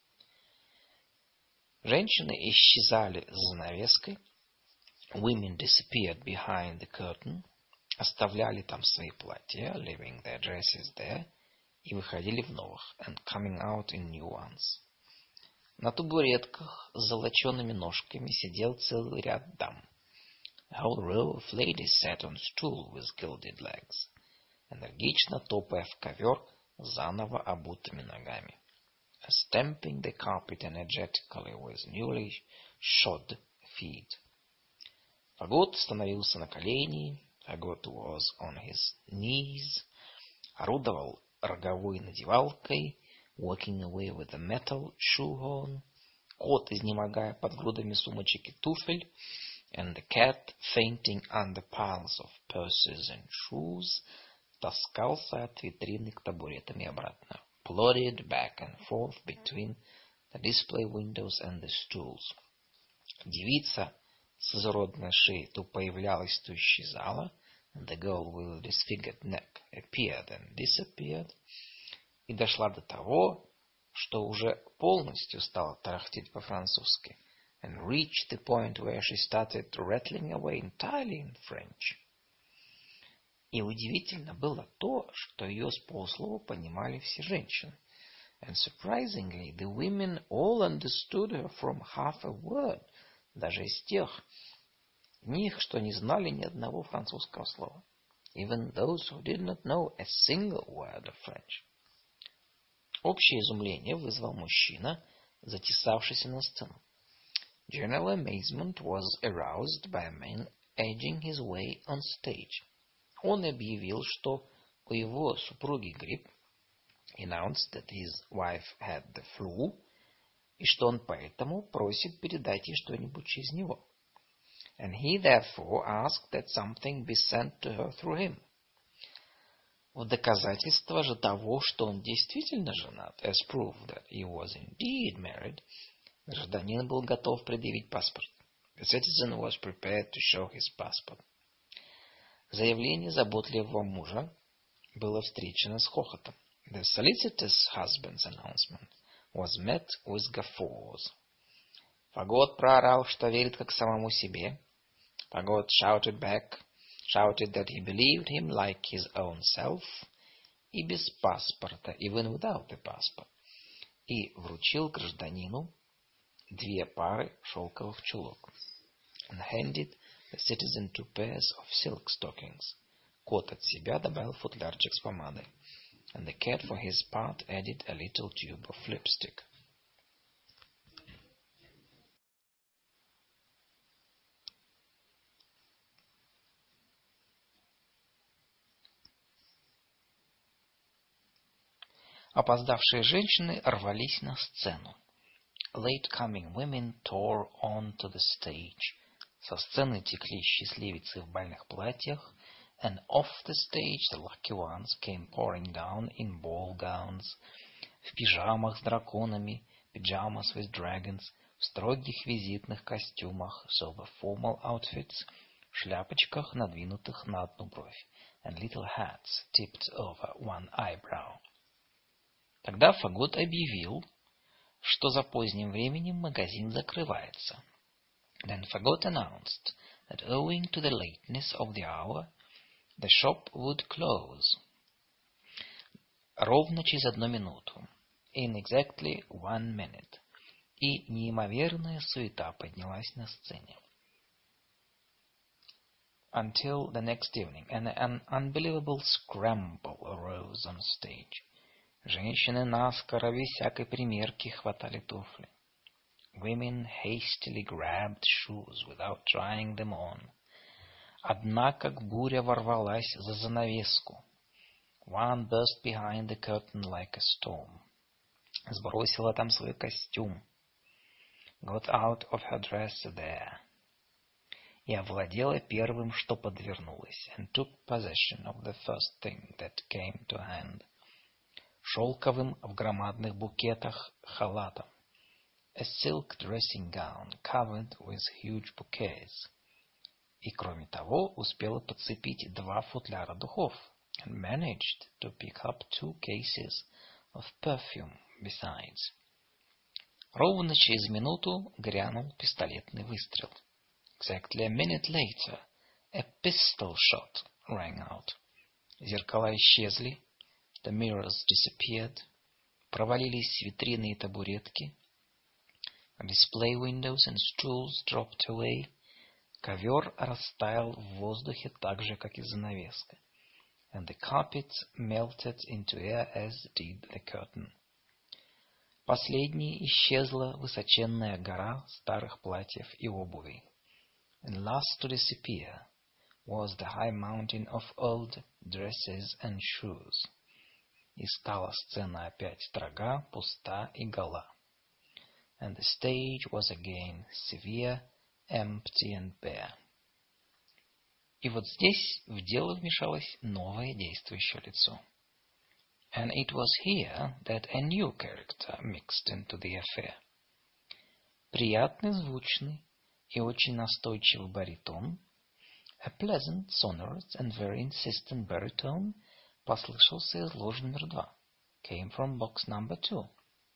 Женщины исчезали за занавеской. Women disappeared behind the curtain. Оставляли там свои платья, leaving their dresses there, и выходили в новых, and coming out in new ones. На табуретках с золочеными ножками сидел целый ряд дам. A whole row of ladies sat on stool with gilded legs, энергично топая в ковер заново обутыми ногами, stamping the carpet energetically with newly shod feet. Фагот становился на колени. Фагот was on his knees, орудовал роговой надевалкой, walking away with a metal shoehorn, кот, изнемогая под грудами сумочек и туфель, and the cat, fainting under piles of purses and shoes, таскался от витрины к табуретам и обратно, plodded back and forth between the display windows and the stools. Девица с изуродной шеей то появлялась, то исчезала, and the girl with disfigured neck appeared and disappeared, и дошла до того, что уже полностью стала тарахтеть по-французски, and reached the point where she started rattling away entirely in French. И удивительно было то, что ее с полуслова понимали все женщины. And surprisingly, the women all understood her from half a word, даже из тех них, что не знали ни одного французского слова. Even those who did not know a single word of French. Общее изумление вызвал мужчина, затесавшийся на сцену. General amazement was aroused by a man edging his way on stage. Он объявил, что у его супруги грипп, announced that his wife had the flu, и что он поэтому просит передать ей что-нибудь через него. And he therefore asked that something be sent to her through him. В доказательство же того, что он действительно женат, as proof that he was indeed married, гражданин был готов предъявить паспорт. The citizen was prepared to show his passport. Заявление заботливого мужа было встречено с хохотом. The solicitor's husband's announcement was met with guffaws. Фагот проорал, что верит как самому себе. Фагот shouted that he believed him like his own self, и без паспорта, even without the passport. и вручил гражданину 2 пары шелковых чулок. And handed the citizen 2 pairs of silk stockings. Кот от себя добавил футлярчик с помадой. And the cat for his part added a little tube of lipstick. Опоздавшие женщины рвались на сцену. Late-coming women tore onto the stage. Со сцены текли счастливицы в бальных платьях, and off the stage the lucky ones came pouring down in ball gowns, в пижамах с драконами, pyjamas with dragons, в строгих визитных костюмах, sober formal outfits, в шляпочках, надвинутых на одну бровь, and little hats tipped over one eyebrow. Тогда Фагот объявил, что за поздним временем магазин закрывается. Then Фагот announced that owing to the lateness of the hour, the shop would close. Ровно через 1 минуту. In exactly 1 minute. И неимоверная суета поднялась на сцене. Until the next evening, and an unbelievable scramble arose on stage. Женщины наскоро, без всякой примерки, хватали туфли. Women hastily grabbed shoes without trying them on. Одна, как буря, ворвалась за занавеску. One burst behind the curtain like a storm. Сбросила там свой костюм. Got out of her dress there. И овладела первым, что подвернулось, and took possession of the first thing that came to hand. Шелковым в громадных букетах халатом. A silk dressing gown covered with huge bouquets. И, кроме того, успела подцепить 2 футляра духов, and managed to pick up 2 cases of perfume besides. Ровно через минуту грянул пистолетный выстрел. Exactly a minute later, a pistol shot rang out. Зеркала исчезли. The mirrors disappeared. Провалились витрины и табуретки. Display windows and stools dropped away. Ковер растаял в воздухе так же, как и занавеска. And the carpet melted into air as did the curtain. Последней исчезла высоченная гора старых платьев и обуви. And last to disappear was the high mountain of old dresses and shoes. И стала сцена опять строга, пуста и гола. And the stage was again severe, empty and bare. И вот здесь в дело вмешалось новое действующее лицо. And it was here that a new character mixed into the affair. Приятный, звучный и очень настойчивый баритон, a pleasant, sonorous and very insistent baritone, послышался из ложи номер 2, came from box number 2.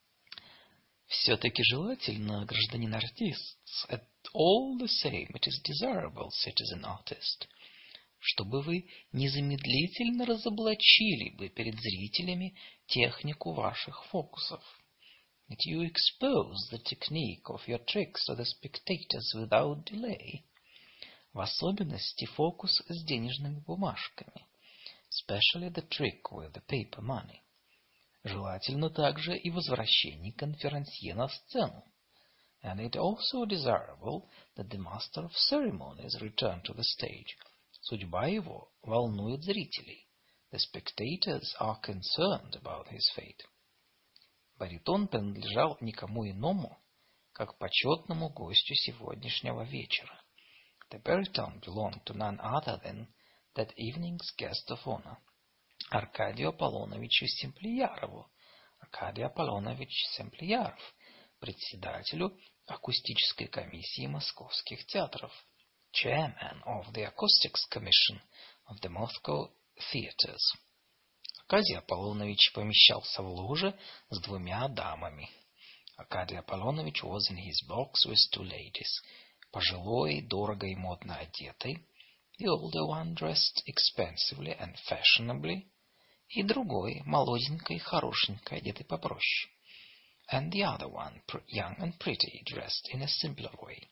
Все-таки желательно, гражданин артист, at all the same it is desirable, citizen artist, чтобы вы незамедлительно разоблачили бы перед зрителями технику ваших фокусов. That you expose the technique of your tricks to the spectators without delay. В особенности фокус с денежными бумажками. Especially the trick with the paper money. Желательно также и возвращение конферансье на сцену. And it also desirable that the master of ceremonies return to the stage. Судьба его волнует зрителей. The spectators are concerned about his fate. Баритон принадлежал никому иному, как почетному гостю сегодняшнего вечера. The baritone belonged to none other than that evening's guest of honor, Аркадию Аполлоновичу Семплиярову, Аркадий Аполлонович Семплияров, председателю акустической комиссии московских театров, chairman of the acoustics commission of the Moscow theaters. Аркадий Аполлонович помещался в ложе с 2 дамами. Аркадий Аполлонович was in his box with 2 ladies, пожилой, дорого и модно одетой, the older one dressed expensively and fashionably, и другой, молоденькой, хорошенькой, одетой попроще. and the other one young and pretty, dressed in a simpler way.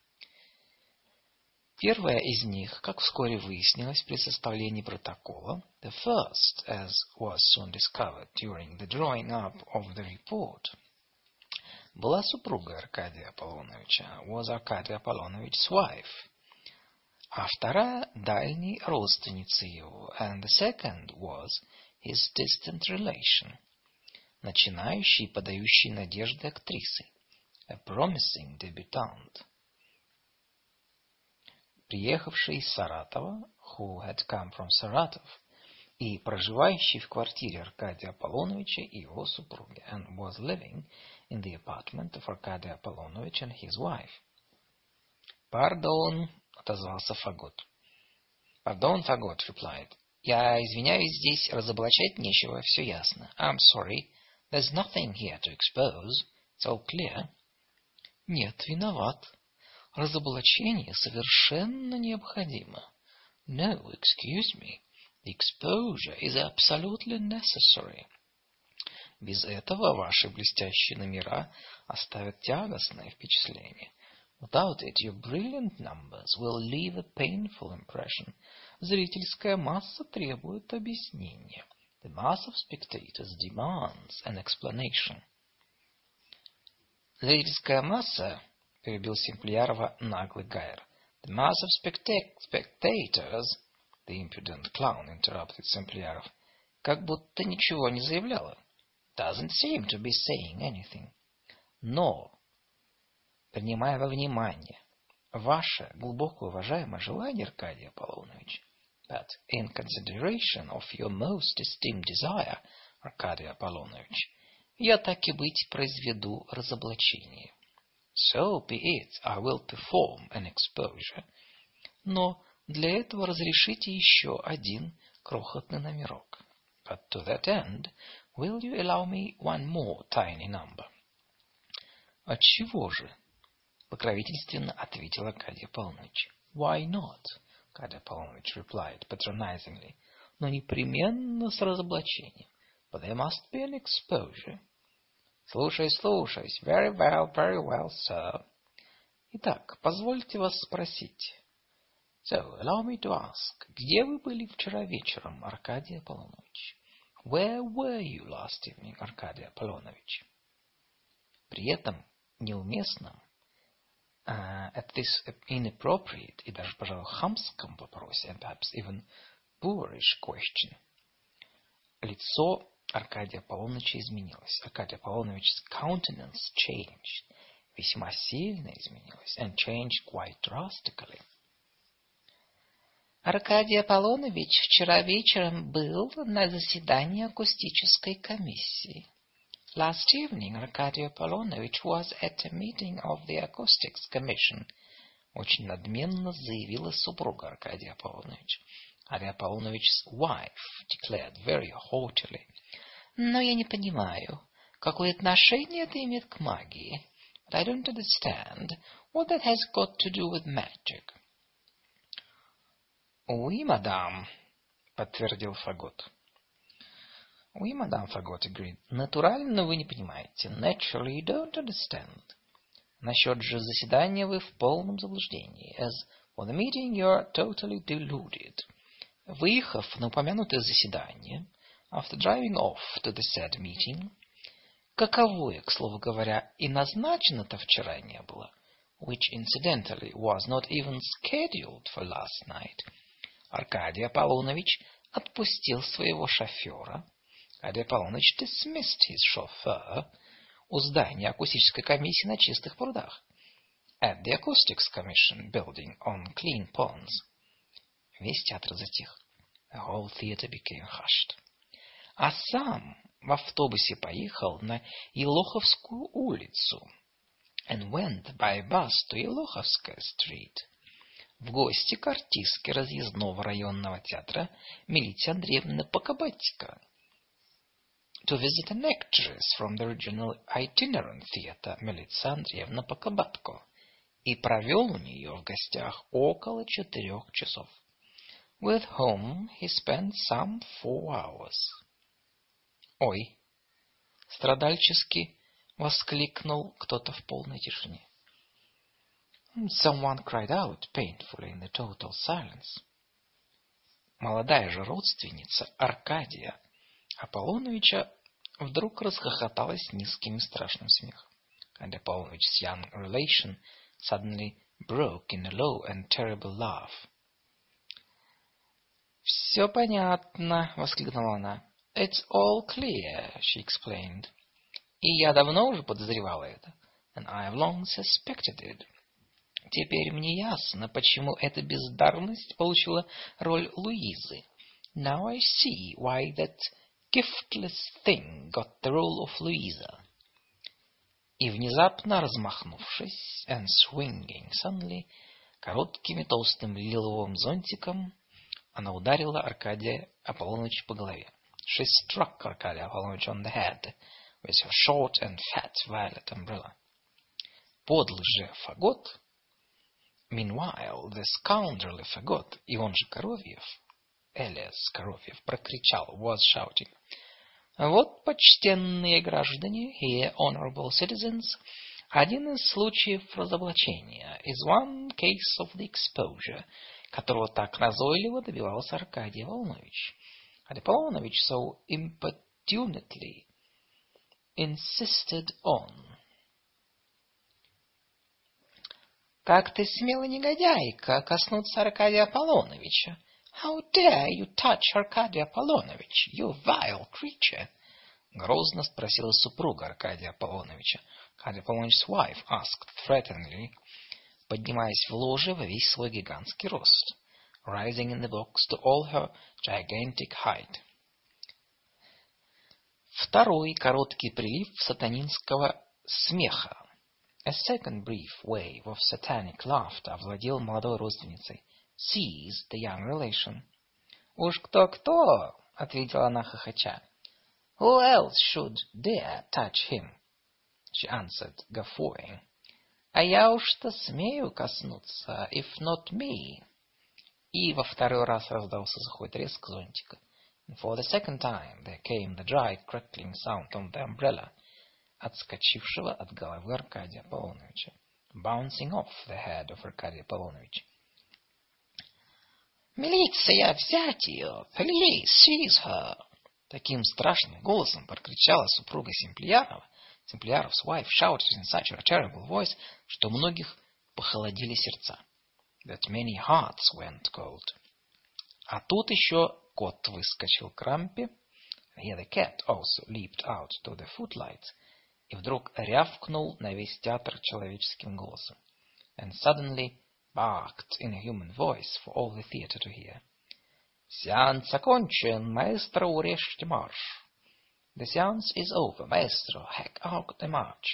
Первая из них, как вскоре выяснилось при составлении протокола, the first, as was soon discovered during the drawing up of the report, была супругой Аркадия Аполлоновича, was Arkadia Apollonovич's wife, а вторая – дальней родственницей его, and the second was his distant relation, начинающей и подающей надежды актрисой, a promising debutante, приехавший из Саратова, who had come from Saratov, и проживающий в квартире Аркадия Аполлоновича и его супруги, and was living in the apartment of Arkadia Apollonovich and his wife. «Пардон», — отозвался Фагот. «Пардон, Фагот», — replied. «Я извиняюсь, здесь разоблачать нечего, все ясно. I'm sorry, there's nothing here to expose. It's all clear». «Нет, виноват. Разоблачение совершенно необходимо». «No, excuse me. The exposure is absolutely necessary». «Без этого ваши блестящие номера оставят тягостное впечатление». «Without it, your brilliant numbers will leave a painful impression». Зрительская масса требует объяснения. The mass of spectators demands an explanation. Зрительская масса, перебил Симплиарова наглый Гайер. The mass of spectators, the impudent clown interrupted Симплиаров, как будто ничего не заявляла. Doesn't seem to be saying anything. Но, принимая во внимание ваше глубоко уважаемое желание, Аркадий Аполлонович, but in consideration of your most esteemed desire, Аркадий Аполлонович, я так и быть произведу разоблачение. So be it, I will perform an exposure. Но для этого разрешите еще один крохотный номерок. But to that end, will you allow me one more tiny number? Отчего же? Покровительственно ответил Аркадий Аполлонович. Why not? Аркадий Аполлонович replied patronizingly. Но непременно с разоблачением. But there must be an exposure. Слушаюсь. Very well, sir. Итак, позвольте вас спросить. So, allow me to ask, где вы были вчера вечером, Аркадий Аполлонович? Where were you last evening, Аркадий Аполлонович? При этом неуместном, at this inappropriate и даже, пожалуй, хамском вопросе, and perhaps even boorish question, лицо Аркадия Аполлоновича изменилось. Аркадий Аполлонович's countenance changed, весьма сильно изменилось, and changed quite drastically. Аркадий Аполлонович вчера вечером был на заседании акустической комиссии. Last evening, Arkadia Apollonovich was at a meeting of the Acoustics Commission. Очень надменно заявила супруга Аркадия Аполлоновича. Аркадий Аполлонович's wife declared very haughtily. Но я не понимаю, какое отношение это имеет к магии. But I don't understand what that has got to do with magic. Oui, madame, подтвердил Фагот. Oui, madame, Фагот agreed. Натурально вы не понимаете. Naturally you don't understand. Насчет же заседания вы в полном заблуждении. As for the meeting you are totally deluded. Выехав на упомянутое заседание, after driving off to the said meeting, каковое, к слову говоря, и назначено-то вчера не было, which incidentally was not even scheduled for last night, Аркадий Аполлонович отпустил своего шофера. Аркадий Аполлонович dismissed his chauffeur у здания акустической комиссии на Чистых прудах. At the Acoustics Commission building on Clean Ponds. Весь театр затих. The whole theater became hushed. А сам в автобусе поехал на Елоховскую улицу and went by bus to Елоховская street. В гости к артистке разъездного районного театра Милите Андреевны Покабатько. To visit an actress from the regional itinerant theater Милица Андреевна Покабатко. И провел у нее в гостях около 4 часов. With whom he spent some 4 hours. Ой, страдальчески воскликнул кто-то в полной тишине. Someone cried out painfully in the total silence. Молодая же родственница Аркадия Аполлоновича вдруг расхохоталась низким и страшным смехом. And Apollonovich's young relation suddenly broke in a low and terrible laugh. «Все понятно», — воскликнула она. «It's all clear», — she explained. «И я давно уже подозревала это. And I have long suspected it. Теперь мне ясно, почему эта бездарность получила роль Луизы. Now I see why that giftless thing got the role of Louisa». И внезапно размахнувшись, and swinging suddenly, коротким и толстым лиловым зонтиком, она ударила Аркадия Аполлоновича по голове. She struck Arcadia Apollonovich on the head with her short and fat violet umbrella. Подлый же Фагот, meanwhile, the scoundrelly Фагот, и он же Коровьев, Элиас Коровьев, прокричал, was shouting. Вот, почтенные граждане, here, honorable citizens, один из случаев разоблачения, is one case of the exposure, которого так назойливо добивался Аркадий Аполлонович. And Apollonich so importunately insisted on. Как ты смела, негодяйка, коснуться Аркадия Аполлоновича? How dare you touch Arcadia Apollonovich, you vile creature? Грозно спросила супруга Аркадия Аполлоновича. Arcadia Apollonovich's wife asked threateningly, поднимаясь в ложе во весь свой гигантский рост, rising in the box to all her gigantic height. Второй короткий прилив сатанинского смеха. A second brief wave of satanic laughter овладел молодой родственницей. Seized the young relation. «Уж кто-кто!» — ответила она хохоча. «Who else should dare touch him?» She answered, guffawing. «А я уж-то смею коснуться, if not me». И во второй раз раздался сухой треск зонтика. And for the second time there came the dry crackling sound of the umbrella, отскочившего от головы Аркадия Аполлоновича, bouncing off the head of Arcadia Apollonovich. «Милиция, взять ее! Police, seize her!» Таким страшным голосом прокричала супруга Симплиярова. Симплияров's wife shouted in such a terrible voice, что у многих похолодели сердца. That many hearts went cold. А тут еще кот выскочил к рампе. Here the cat also leaped out to the footlights. И вдруг рявкнул на весь театр человеческим голосом. And suddenly barked in a human voice for all the theater to hear. «Сеанс окончен, маэстро, урежьте марш!» The seance is over, maestro, hack out the march.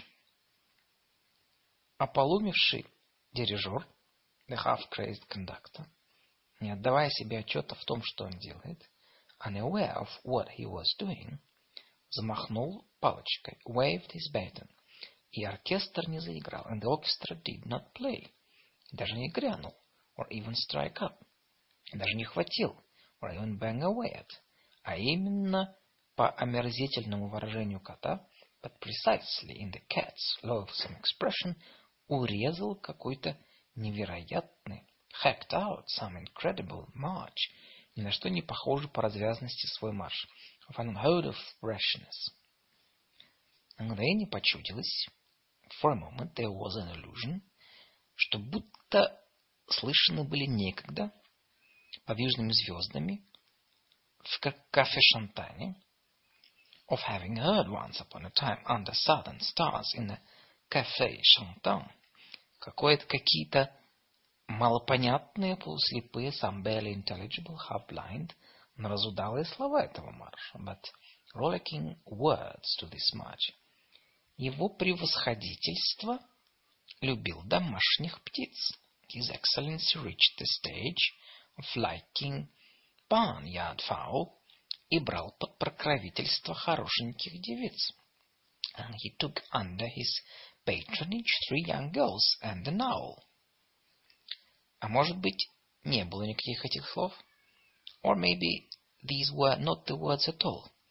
Ополумевший дирижер, the half-crazed conductor, не отдавая себе отчета в том, что он делает, unaware of what he was doing, взмахнул палочкой, waved his baton, и оркестр не заиграл, and the orchestra did not play, даже не грянул, or even strike up, даже не хватил, or even bang away at, а именно по омерзительному выражению кота, but precisely in the cat's loathsome expression, урезал какой-то невероятный, hacked out some incredible march, ни на что не похожий по развязности свой марш, of an unheard of rashness. На мгновение почудилось, for a moment there was an illusion, что будто слышаны были некогда подвижными звездами в кафе-шантане, of having heard once upon a time under southern stars in a café chantant, какие-то малопонятные, полуслепые, some barely intelligible, half-blind, но разудалые слова этого марша, but rollicking words to this march. Его превосходительство любил домашних птиц. His Excellency reached the stage of liking barnyard fowl и брал под покровительство хорошеньких девиц. And he took under his patronage 3 young girls and an owl. А может быть, не было никаких этих слов? Or maybe these were not the words at all.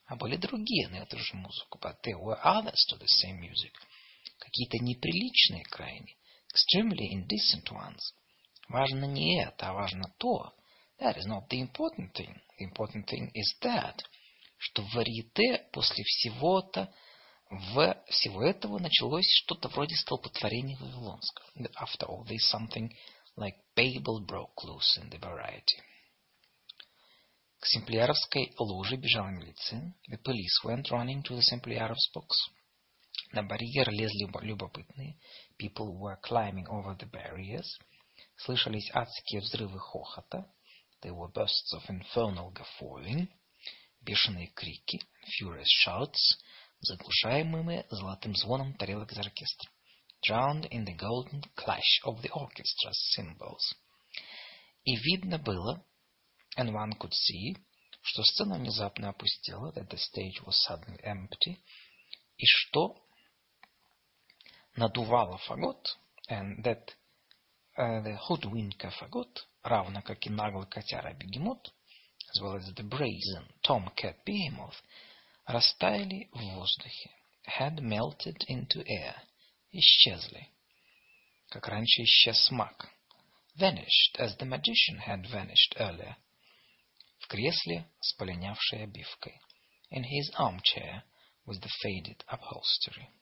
А были другие на эту же музыку. But there were others to the same music. Какие-то неприличные крайне. Extremely indecent ones. Важно не это, а важно то. That is not the important thing. The important thing is that, что в варьете после всего этого началось что-то вроде столпотворения вавилонского. After all this, something like Babel broke loose in the variety. К Семплиаровской ложе бежала милиция. The police went running to the Sempliarov's box. На барьер лезли любопытные. People were climbing over the barriers. Слышались адские взрывы хохота. There were bursts of infernal guffawing. Бешеные крики. Furious shouts. Заглушаемые золотым звоном тарелок из оркестра. Drowned in the golden clash of the orchestra's cymbals. И видно было, and one could see, что сцена внезапно опустела, that the stage was suddenly empty, и что надувало фагот, and that the hoodwinker фагот, равно как и наглый котяра бегемот, as well as the brazen tomcat behemoth, растаяли в воздухе, had melted into air, исчезли, как раньше исчез маг, vanished as the magician had vanished earlier, в кресле с полинявшей обивкой, in his armchair with the faded upholstery.